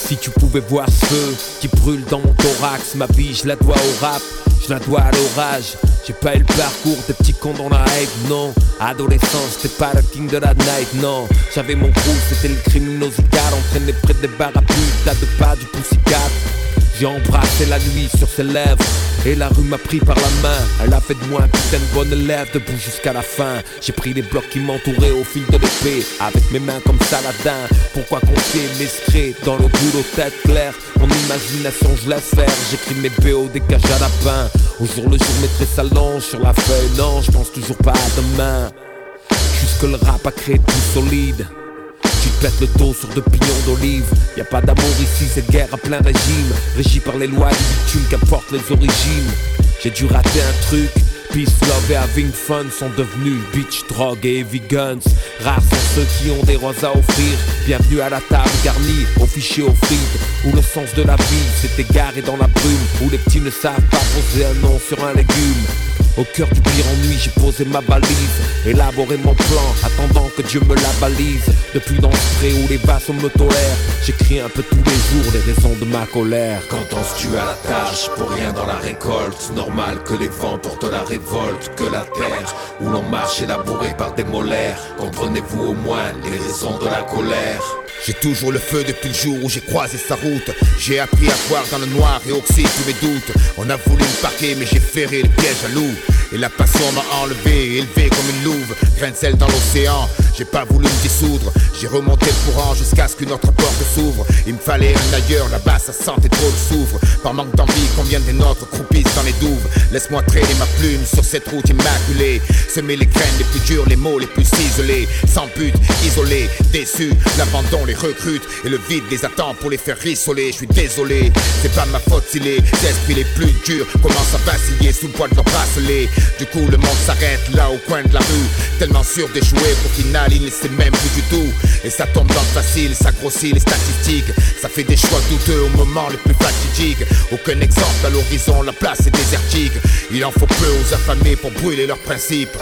Si tu pouvais voir ce feu qui brûle dans mon thorax, ma vie je la dois au rap, je la dois à l'orage. J'ai pas eu le parcours des petits cons dans la haine, non. Adolescence, j'étais pas le king de la night, non. J'avais mon crew, c'était le criminosical, entraîné près des barres à pute, tas de pas du poussicat. J'ai embrassé la nuit sur ses lèvres et la rue m'a pris par la main. Elle a fait de moi un putain de bon élève, debout jusqu'à la fin. J'ai pris les blocs qui m'entouraient au fil de l'épée, avec mes mains comme Saladin. Pourquoi confier mes secrets dans le boulot tête claire? Mon imagination je laisse faire, j'écris mes B O des cages à lapin. Au jour le jour mes traits s'allongent sur la feuille, non je pense toujours pas à demain. Jusque le rap a créé tout solide. Tu te pètes le dos sur deux pignons d'olive. Y'a pas d'amour ici, c'est guerre à plein régime. Régi par les lois du bitume, qu'importe les origines. J'ai dû rater un truc. Peace, love et having fun sont devenus bitch, drogue et heavy guns. Rares sont ceux qui ont des roses à offrir. Bienvenue à la table garnie, au fichier au frites. Où le sens de la vie s'est égaré dans la brume. Où les petits ne savent pas poser un nom sur un légume. Au cœur du pire ennui, j'ai posé ma balise, élaboré mon plan, attendant que Dieu me la balise. Depuis dans ce pré où les vassaux me tolèrent, j'écris un peu tous les jours les raisons de ma colère. Quand on se tue à la tâche, pour rien dans la récolte. Normal que les vents portent la révolte, que la terre où l'on marche est labourée par des molaires. Comprenez-vous au moins les raisons de la colère? J'ai toujours le feu depuis le jour où j'ai croisé sa route. J'ai appris à voir dans le noir et oxyde tous mes doutes. On a voulu me parquer mais j'ai ferré le piège à loup. Et la passion m'a enlevé, élevé comme une louve. Grain de sel dans l'océan, j'ai pas voulu me dissoudre. J'ai remonté le courant jusqu'à ce qu'une autre porte s'ouvre. Il me fallait un ailleurs, là-bas ça sentait trop le soufre. Par manque d'envie, combien des nôtres croupissent dans les douves. Laisse-moi traîner ma plume sur cette route immaculée. Semer les graines les plus dures, les mots les plus ciselés. Sans but, isolé, déçu, l'abandon les recrute. Et le vide les attend pour les faire rissoler. Je suis désolé, c'est pas ma faute si les esprits les plus durs commencent à vaciller sous le poids de leurs bracelets. Du coup le monde s'arrête là au coin de la rue, tellement sûr d'échouer qu'au final il ne sait même plus du tout. Et ça tombe dans le facile, ça grossit les statistiques. Ça fait des choix douteux au moment le plus fatidique. Aucun exemple à l'horizon, la place est désertique. Il en faut peu aux affamés pour brûler leurs principes.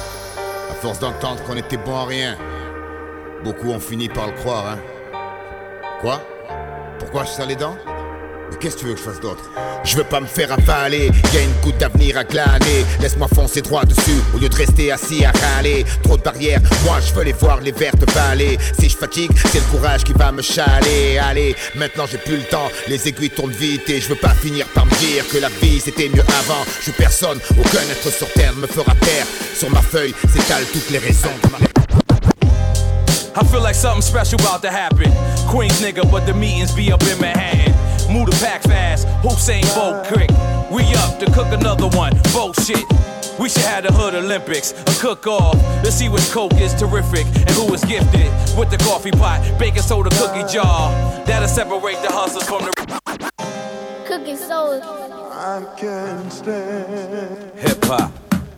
À force d'entendre qu'on était bon à rien, beaucoup ont fini par le croire, hein. Quoi? Pourquoi je serre les dents? Mais qu'est-ce que tu veux que je fasse d'autre? Je veux pas me faire avaler, y'a une goutte d'avenir à glaner. Laisse-moi foncer droit dessus, au lieu de rester assis à râler. Trop de barrières, moi je veux les voir, les vertes vallées. Si je fatigue, c'est le courage qui va me chaler. Allez, maintenant j'ai plus le temps, les aiguilles tournent vite. Et je veux pas finir par me dire que la vie c'était mieux avant. Je suis personne, aucun être sur terre me fera taire. Sur ma feuille s'étalent toutes les raisons de ma... I feel like something special about to happen. Queens nigga, but the meetings be up in Manhattan. Move the pack fast, Hussein Bolt quick. We up to cook another one, bullshit. We should have the Hood Olympics, a cook-off. Let's see which coke is terrific and who is gifted with the coffee pot, baking soda cookie jar. That'll separate the hustlers from the cookie soda. I can't stand hip-hop.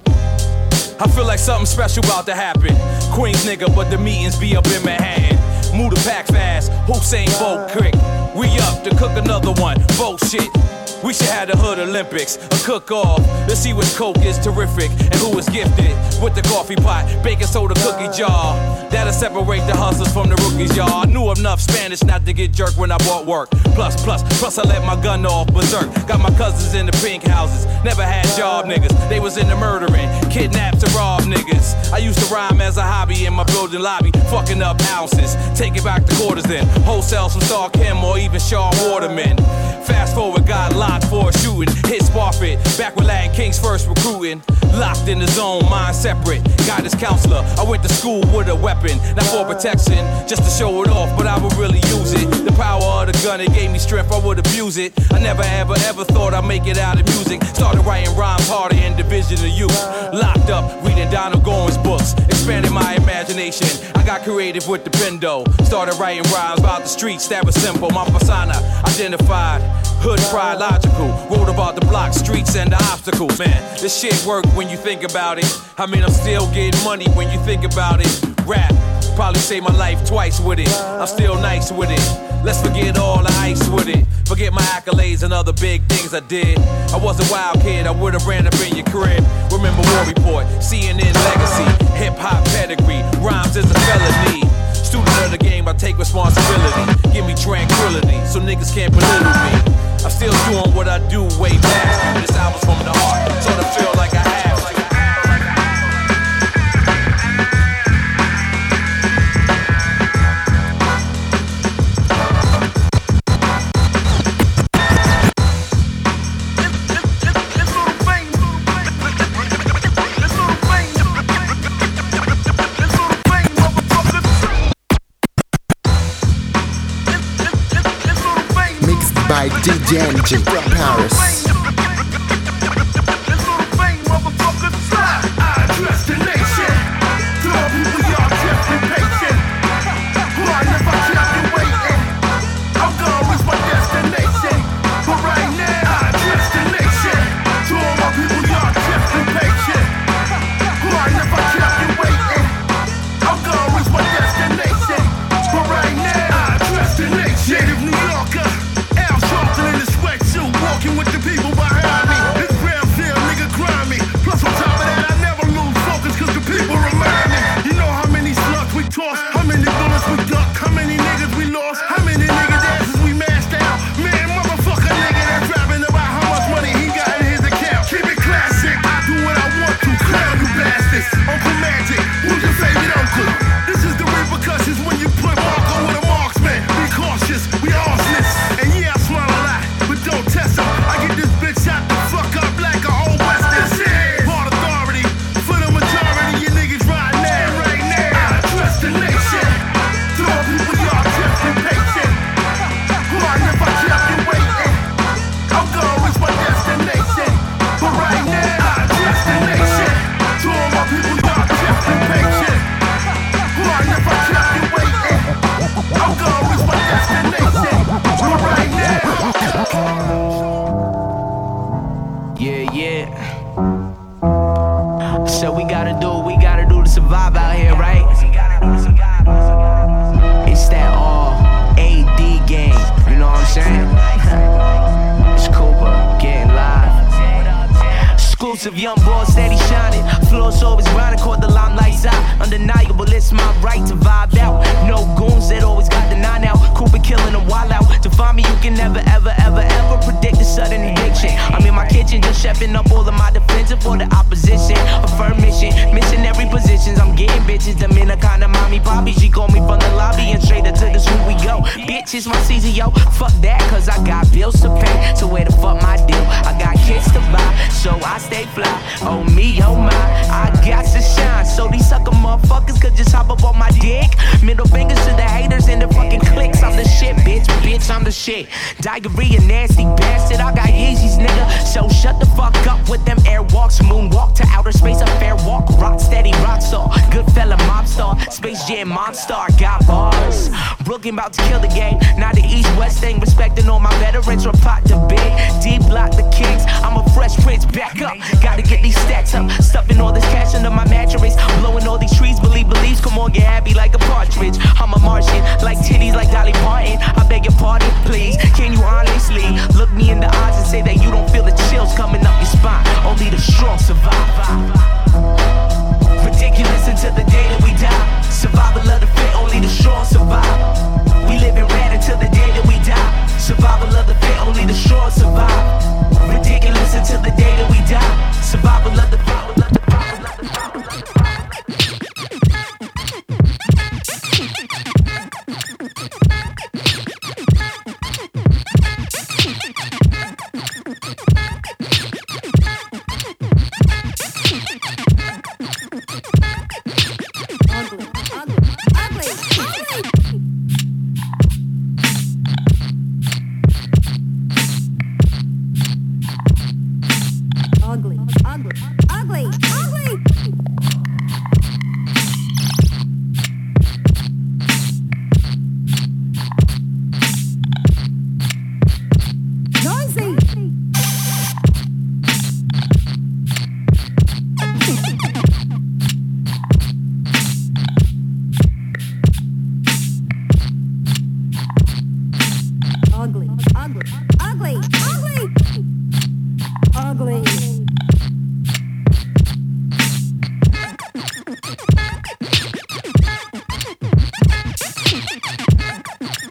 I feel like something special about to happen. Queens nigga, but the meetings be up in Manhattan. Move the pack fast, Hussein Bolt quick. We up to cook another one, bullshit. We should have the Hood Olympics, a cook-off. Let's see which coke is terrific and who is gifted with the coffee pot, baking soda cookie jar. That'll separate the hustlers from the rookies, y'all. I knew enough Spanish not to get jerked when I bought work. Plus, plus, plus I let my gun off berserk. Got my cousins in the pink houses. Never had job niggas. They was into murdering, kidnapped and rob niggas. I used to rhyme as a hobby in my building lobby, fucking up ounces. Taking back the quarters then. Wholesale some Star Kim or even Shaw Waterman. Fast forward, got locked for a shooting. Hit Sparfit, back with Latin Kings first recruiting. Locked in the zone, mind separate. Guidance counselor, I went to school with a weapon. Not for protection, just to show it off, but I would really use it. The power of the gun, it gave me strength, I would abuse it. I never ever ever thought I'd make it out of music. Started writing rhymes harder in Division of Youth. Locked up, reading Donald Goins books. Expanded my imagination, I got creative with the bendo. Started writing rhymes about the streets, that was simple. My persona, identified. Hood pride logical, wrote about the block, streets and the obstacles. Man, this shit work when you think about it. I mean, I'm still getting money when you think about it. Rap, probably saved my life twice with it. I'm still nice with it. Let's forget all the ice with it. Forget my accolades and other big things I did. I was a wild kid, I would've ran up in your crib. Remember War Report, C N N legacy, hip hop pedigree, rhymes is a felony. Student of the game, I take responsibility. Give me tranquility, so niggas can't belittle me. I'm still doing what I do way back. This album's from the heart, so to feel like I have. Like by D J N J from Paris. Young boy steady shining, floors always grinding, caught the limelights out. Undeniable, it's my right to vibe out. No goons that always got the nine out. Cooper killing them wild out. To find me, you can never, ever, ever, ever predict a sudden addiction. I'm in my kitchen, just chefing up all of my defensive for the opposition. A firm mission, missionary positions. I'm getting bitches, them in a kind of mommy poppy. She called me from the lobby and straight up to the school we go. Bitch, it's my season, yo. Fuck that, cause I got bills to pay. So where the fuck my deal? I got kids to buy, so I stay fly. Oh me, oh my, I got to shine. So these sucker motherfuckers could just hop up on my dick. Middle fingers to the haters and the fucking clicks. I'm the shit, bitch, bitch, I'm the shit. Diarrhea, nasty bastard, I got Yeezys, nigga. So shut the fuck up with them airwalks. Moonwalk to outer space, a fair walk. Rock steady, rock star, good fella, mob star. Space Jam, monster, got bars. Brooklyn about to kill the game. Now the East West thing, respecting all my veterans from pot to big. D block the kings, I'm a fresh prince, back up. Gotta get these stacks up, stuffing all this cash under my mattress, blowing all these trees, believe beliefs, come on, get happy like a partridge. I'm a Martian, like titties, like Dolly Parton. I beg your pardon, please, can you honestly look me in the eyes and say that you don't feel the chills coming up your spine? Only the strong survive. Ridiculous until the day that we die. Survival of the fit, only the strong survive. We live in red until the day that we die. Survival of the fit, only the strong survive. Ridiculous until the day that we die. Survival of the power, of the power, of the power.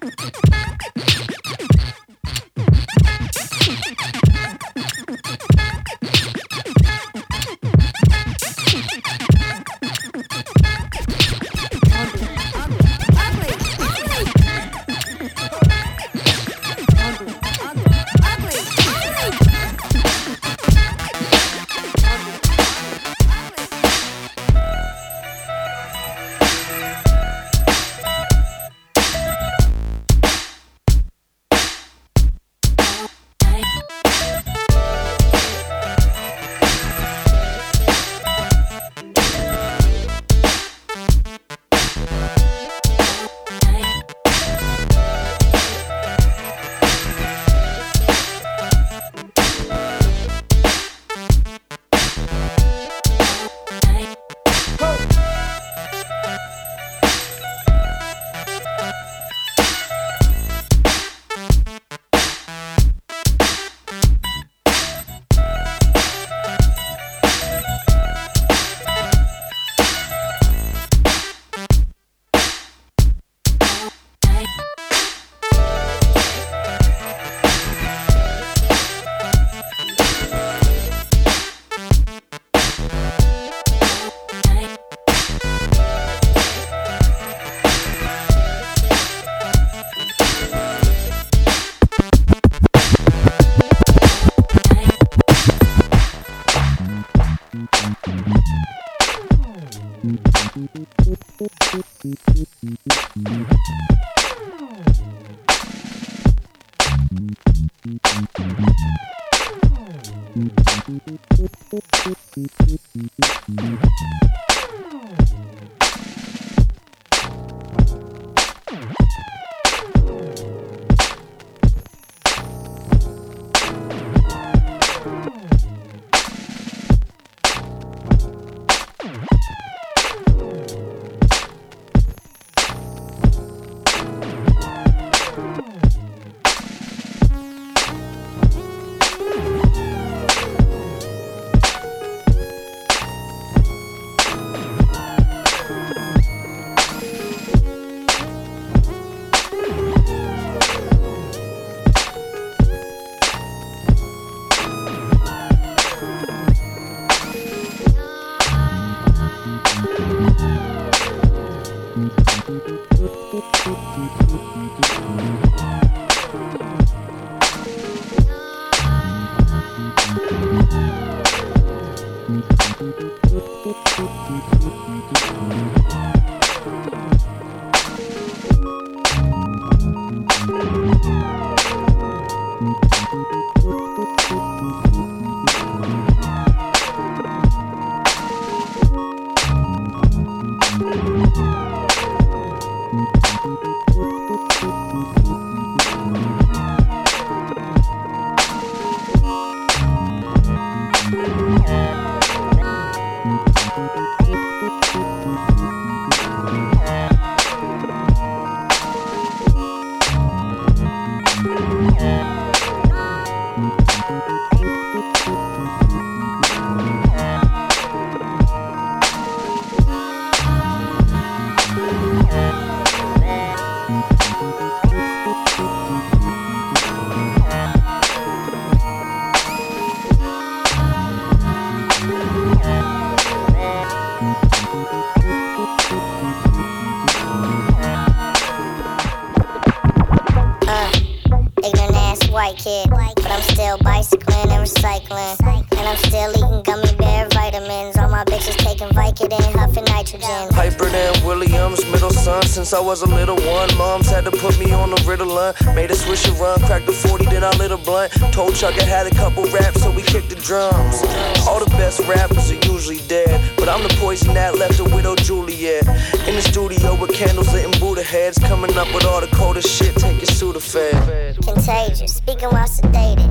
Since I was a little one, moms had to put me on the Ritalin. Made a swisher run, cracked a forty, then I lit a blunt. Told Chuck I had a couple raps, so we kicked the drums. All the best rappers are usually dead, but I'm the poison that left a widow Juliet. In the studio with candles lit and Buddha heads, coming up with all the coldest shit, take your Sudafed. Contagious, speaking while sedated. God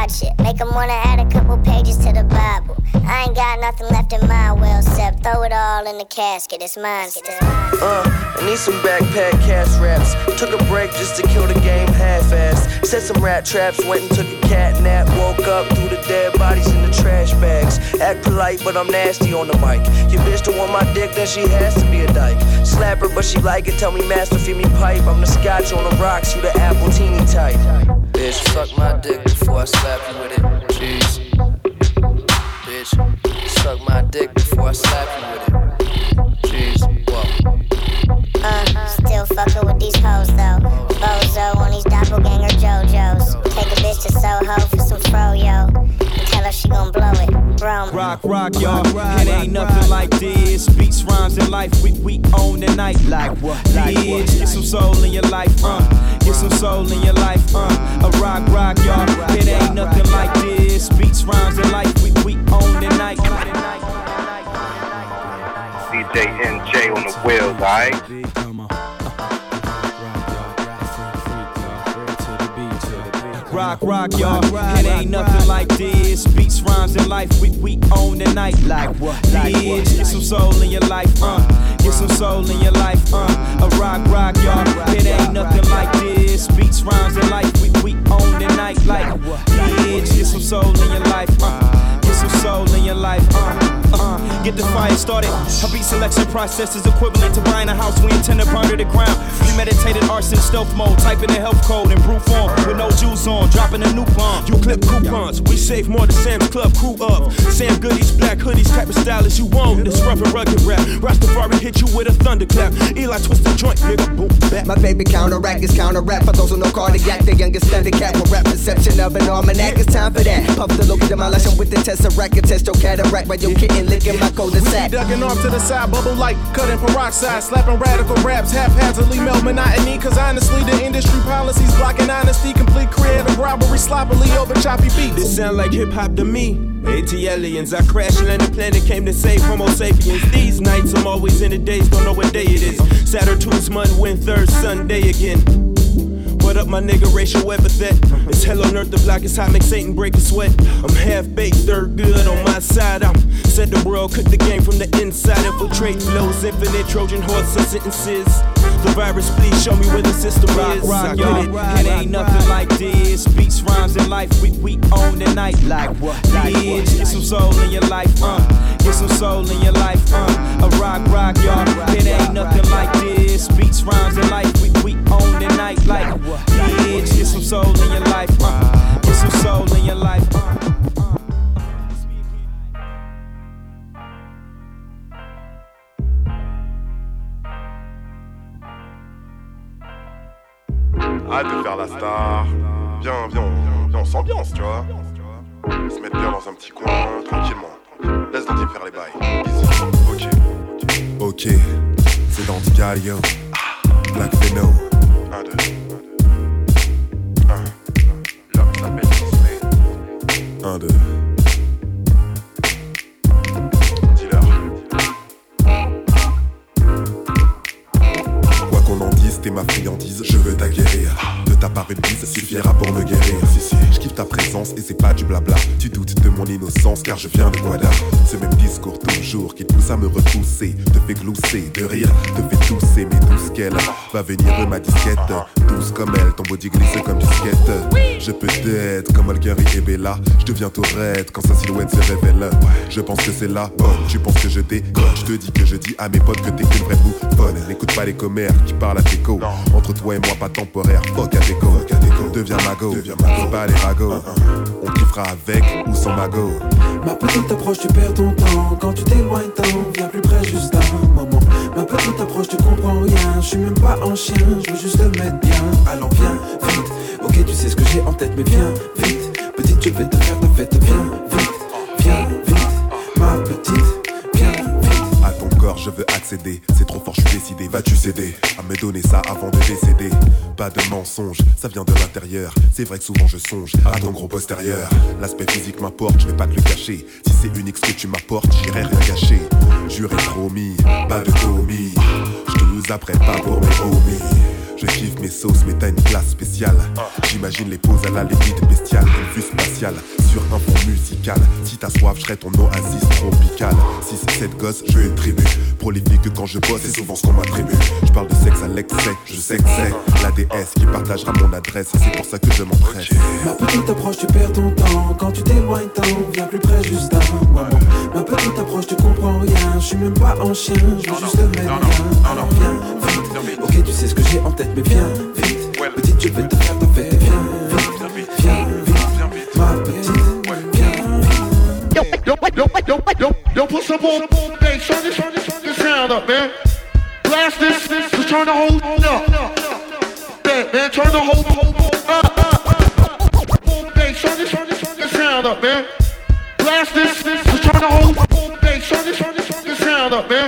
watch it. Make them wanna add a couple pages to the Bible. I ain't got nothing left in my will, except throw it all in the casket. It's mine still. Uh, I need some backpack cash raps. Took a break just to kill the game half-assed. Set some rat traps, went and took a cat nap. Woke up through the dead bodies in the trash bags. Act polite, but I'm nasty on the mic. Your bitch don't want my dick, then she has to be a dyke. Slap her, but she like it. Tell me master, feed me pipe. I'm the scotch on the rocks, you the apple teeny type. Bitch, fuck my dick before I slap you with it. Jeez. Bitch, suck my dick before I slap you with it. Jeez, whoa. Uh, still fucking with these hoes though. Bozo on these doppelganger JoJo's. Take a bitch to Soho for some froyo. And tell her she gon' blow it. Bro. Rock, rock, y'all. It ain't nothing like this. Beats, rhymes, and life. We, we own the night. Like what? Like what? Get some soul in your life, uh. Get some soul in your life, uh. A rock, rock, y'all. It ain't nothing like this. Beats, rhymes, and life. We, we own the night. D J N J on the wheels, alright? Rock, rock, y'all. It ain't nothing like this. Beats, rhymes, and life. We, we own the night. Like what? Bitch, get some soul in your life, uh. Get some soul in your life, uh. A rock, rock, y'all. It ain't nothing like this. Beats, rhymes, and life. We, we own the night. Like bitch, get some soul in your life, uh. Get some soul in your life, uh. Uh, get the fire started. Our beat selection process is equivalent to buying a house we intend to burn to the ground. Premeditated arson, stealth mode, typing the health code in brute form with no juice on, dropping a new bomb. You clip coupons, we save more than Sam's Club crew up. Sam Goodies, black hoodies, type of style as you want. This rough and rugged rap. Rastafari hit you with a thunderclap. Eli twist the joint, nigga, boom, back. My baby counteract is counter rap. For those who know cardiac, the youngest thundercat with rap perception of an almanac. It's time for that. Puff the look at demolish them with the tesseract and test your cataract while your kitten licking my cul-de-sac. Ducking off to the side, bubble like cutting peroxide, slapping radical raps, haphazardly melt monotony. Cause honestly, the industry policies blocking honesty, complete creative robbery, sloppily over choppy beats. This sound like hip hop to me. AT aliens, I crash land the planet, came to save Homo sapiens. These nights I'm always in the days, don't know what day it is. Saturn, Tuesday, Monday, Wednesday, third Sunday again. What up, my nigga, racial epithet? It's hell on earth, the block is hot, make Satan break a sweat. I'm half-baked, third good on my side. I'm set the world, cook the game from the inside. Infiltrate flows, infinite Trojan horse and sentences. The virus, please show me where the system rock, is. Rock, y'all. It, it ain't nothing like this. Beats, rhymes, and life. We, we own the night. Like what? Bitch, get some soul in your life, uh. Get some soul in your life, uh. A rock, rock, y'all. It ain't nothing like this. Beats, rhymes, and life. We, we own the night. Like what? Bitch, get some soul in your life, uh. Get some soul in your life, uh. Arrête de faire la star. Viens, viens, viens, on s'ambiance, tu vois. Se mettre bien dans un petit coin, tranquillement. Laisse Dandy faire les bails. Ok. Ok, c'est Dandy Galio. Black Pheno. Un, deux. Un. L'homme s'appelle Disney. Un, deux. Dis-leur. Quoi qu'on en dise, t'es ma friandise, je veux t'acquérir. De ta part une bise suffira pour me guérir. Si, si, je kiffe ta présence et c'est pas du blabla. Tu doutes de mon innocence car je viens de Guada. Ce même discours toujours qui te pousse à me repousser, te fait glousser, de rire, te fait tousser. Mais douce qu'elle va venir de ma disquette. Douce comme elle, ton body glisse comme du skate. Je peux t'être comme Olgari et Bella. Je deviens Tourette quand sa silhouette se révèle. Je pense que c'est la bonne, tu penses que je déconne. Je te dis que je dis à mes potes que t'es qu'une vraie bouffonne. N'écoute pas les commères qui parlent à tes co. Entre toi et moi pas temporaire, fuck à déco. Deviens mago, c'est pas les ragots. On kiffera avec ou sans mago. Ma petite approche, tu perds ton temps. Quand tu t'éloignes, t'en viens plus près juste un moment. Ma petite approche, tu comprends rien. Je suis même pas en chien, je veux juste le mettre bien. Allons, viens, vite. Ok, tu sais ce que j'ai en tête, mais viens, vite. Petite, je vais te faire ta fête, viens, vite. Viens, vite, ma petite, viens, vite. À ton corps, je veux accéder. C'est trop fort, je suis décidé. Vas-tu céder à me donner ça avant de décéder? Pas de mensonge, ça vient de l'intérieur. C'est vrai que souvent je songe à ton gros postérieur. L'aspect physique m'importe, je vais pas te le cacher. Si c'est unique ce que tu m'apportes, j'irai rien gâcher. Juré promis, pas de commis. Je te nous apprête pas pour mes homies. Je kiffe mes sauces, mais t'as une classe spéciale. J'imagine les poses à la limite bestiale, une vue spatiale sur un fond musical. Si t'as soif, j'serai ton oasis tropical. six sept gosses, je veux une tribu. Prolifique quand je bosse, c'est souvent ce qu'on m'attribue. Je parle de sexe à l'excès, je sais que c'est la déesse qui partagera mon adresse. C'est pour ça que je m'empresse. Ma petite approche, tu perds ton temps. Quand tu t'éloignes tant, viens plus près juste un moment. Ma petite approche, tu comprends rien. Je suis même pas en chien, je veux juste te mettre bien. Alors viens vite, ok tu sais ce que j'ai en tête, mais viens vite. Petite, je vais te faire ta fête. Viens vite, viens vite, ma petite. Yo, yo, yo, yo, yo, yo, put some more bass on this, this sound up, man. Blast this, this, to turn the whole up. Yeah, man, turn the whole up, up. More bass on this, this sound up, man. Blast this, this, to turn the whole bass on this, this sound up, man.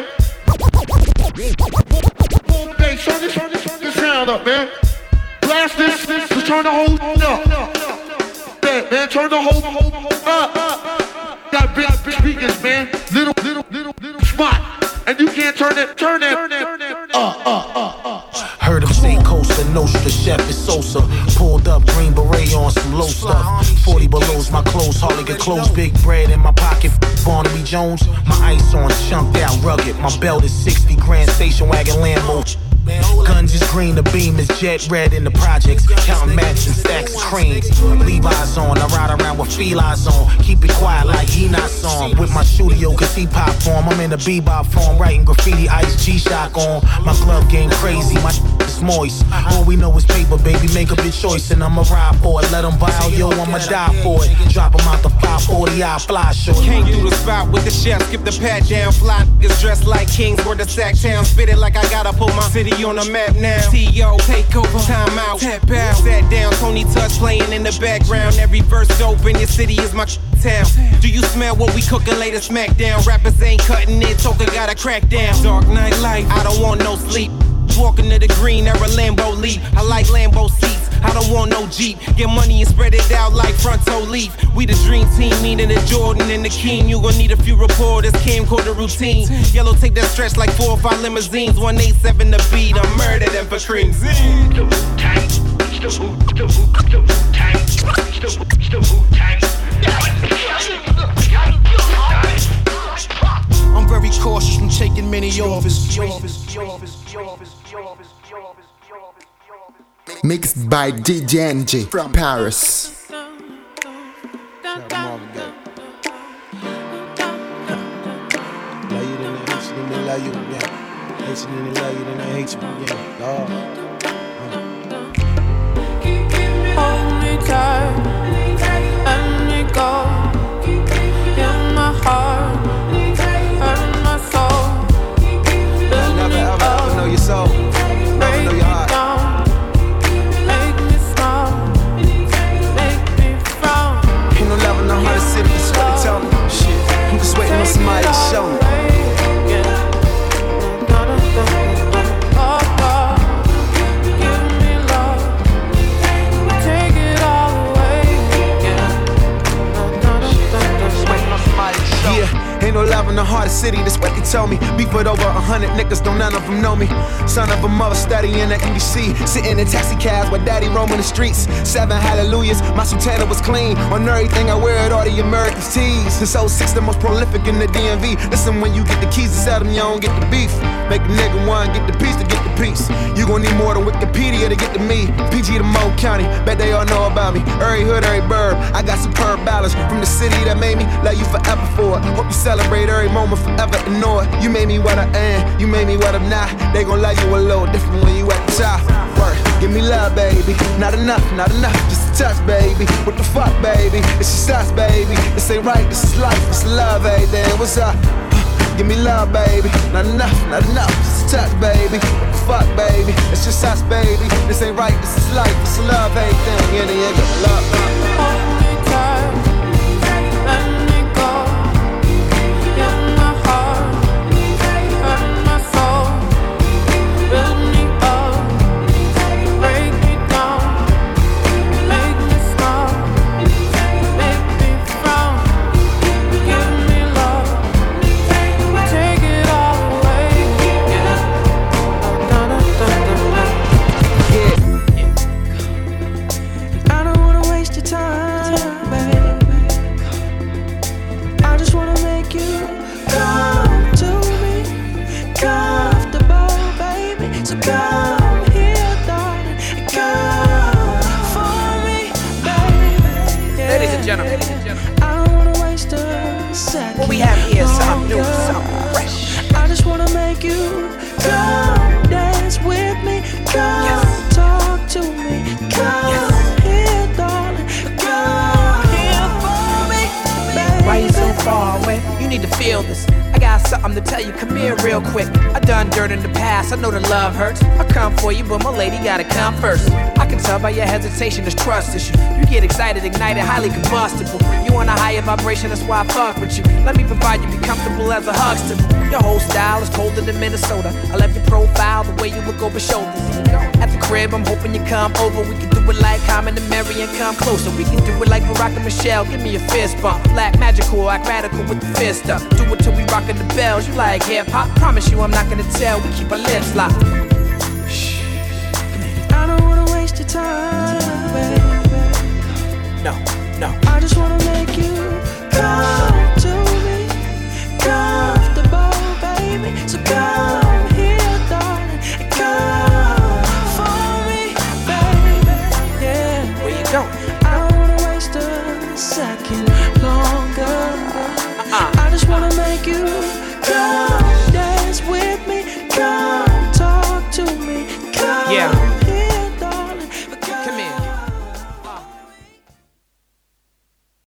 More bass on this, this sound up, man. Blast this, this, to turn the whole up. Yeah, man, turn the whole up, up. Got big, big speakers, man. Little, little, little, little spot. And you can't turn it, turn it, uh, uh, uh, uh. Heard him say Costa Nostra, chef is Sosa. Pulled up, green beret on some low stuff. forty below's my clothes, hardly get clothes. Big bread in my pocket, Barnaby Jones. My ice on, chunked out, rugged. My belt is sixty grand, station wagon Lambo. Guns is green, the beam is jet red in the projects. Counting mats and stacks of cranes. Levi's on, I ride around with felines on. Keep it quiet like he not song. With my studio, cause he pop form. I'm in the bebop form, writing graffiti, ice G-Shock on. My glove game crazy, my is moist. All we know is paper, baby, make a good choice. And I'ma ride for it, let them buy, yo, I'ma die for it. Drop them out the five forty, I fly short. Came through the spot with the chef, skip the pat down. Fly niggas dressed like kings, where the sack town. Spit it like I gotta put my city on the map now. T O, take over, time out, tap out. Sat down, Tony Touch playing in the background. Every verse dope in your city is my town. Do you smell what we cooking later? Smackdown. Rappers ain't cutting it, Toka got a crack down. Dark night light, I don't want no sleep. Walking to the green, era Lambo leap. I like Lambo seats, I don't want no Jeep. Get money and spread it out like fronto leaf. We the dream team, meaning the Jordan and the King. You gon' need a few reporters, camcorder routine. Yellow tape that stretch like four or five limousines. one eighty-seven the beat, I'm murder them for cream. I'm very cautious when taking many offers. Mixed by D J N J from Paris. Hold me tight, let me go. In my heart, hurt my soul. Never ever ever know your soul. Never know your heart. Make me smile, make me frown. Ain't no love in the heart of the city, that's what they tell me. Shit, I'm just waiting on somebody to show me. Ain't no love in the heart of the city, that's what they tell me. Beef with over a hundred niggas, don't none of them know me. Son of a mother studying at N B C. Sitting in taxi cabs with daddy roaming the streets. Seven hallelujahs, my sultana was clean. On everything I wear it, all the American tees. Since oh six, the most prolific in the D M V. Listen, when you get the keys to sell them, you don't get the beef. Make a nigga one, get the piece to get the piece. You gon' need more than Wikipedia to get to me. P G to Mo County, bet they all know about me. Every hood, every burb, I got superb balance. From the city that made me, love you forever for it. Hope you celebrate every moment, forever ignore it. You made me what I am, you made me what I'm not. They gon' love you a little different when you at the top. Work, give me love, baby. Not enough, not enough, just a touch, baby. What the fuck, baby? It's just us, baby. This ain't right, this is life, it's love, baby. What's up? Give me love, baby. Not enough, not enough, just a touch, baby. What the fuck, baby? It's just us, baby. This ain't right, this is life, it's love, everything. Yeah, yeah, yeah, love. Hold me tight, let me go. In my heart, hurt my soul. Build me up, break me down. Make me smile, make me frown. Give me love, take it all away. Da, da, da, da, da. gentlemen. I don't wanna waste a second. What we have here is something new, something fresh. I just wanna make you come dance with me. Come yes. talk to me. Come yes. here, darling. Come here for me, baby. Why you so far away? You need to feel this. I got something to tell you, come here real quick. I done dirt in the past, I know that love hurts. I'll come for you, but my lady gotta come first. I can tell by your hesitation, there's trust issue. You get excited, ignited, highly combustible. You on a higher vibration, that's why I fuck with you. Let me provide you, be comfortable as a huckster. Your whole style is colder than Minnesota. I love your profile, the way you look over shoulders. At the crib, I'm hoping you come over. We can do it like Common and Mary and come closer. We can do it like Barack and Michelle, give me a fist bump. Black magical, act radical with the fist up. Do it till we rockin' the bells. You like hip hop? Promise you I'm not gonna tell. We keep our lips locked. Shh. I don't wanna waste your time, baby. No, no. I just wanna make you come to me, comfortable, baby. So come here, darling, and come for me, baby. Yeah. Where you going?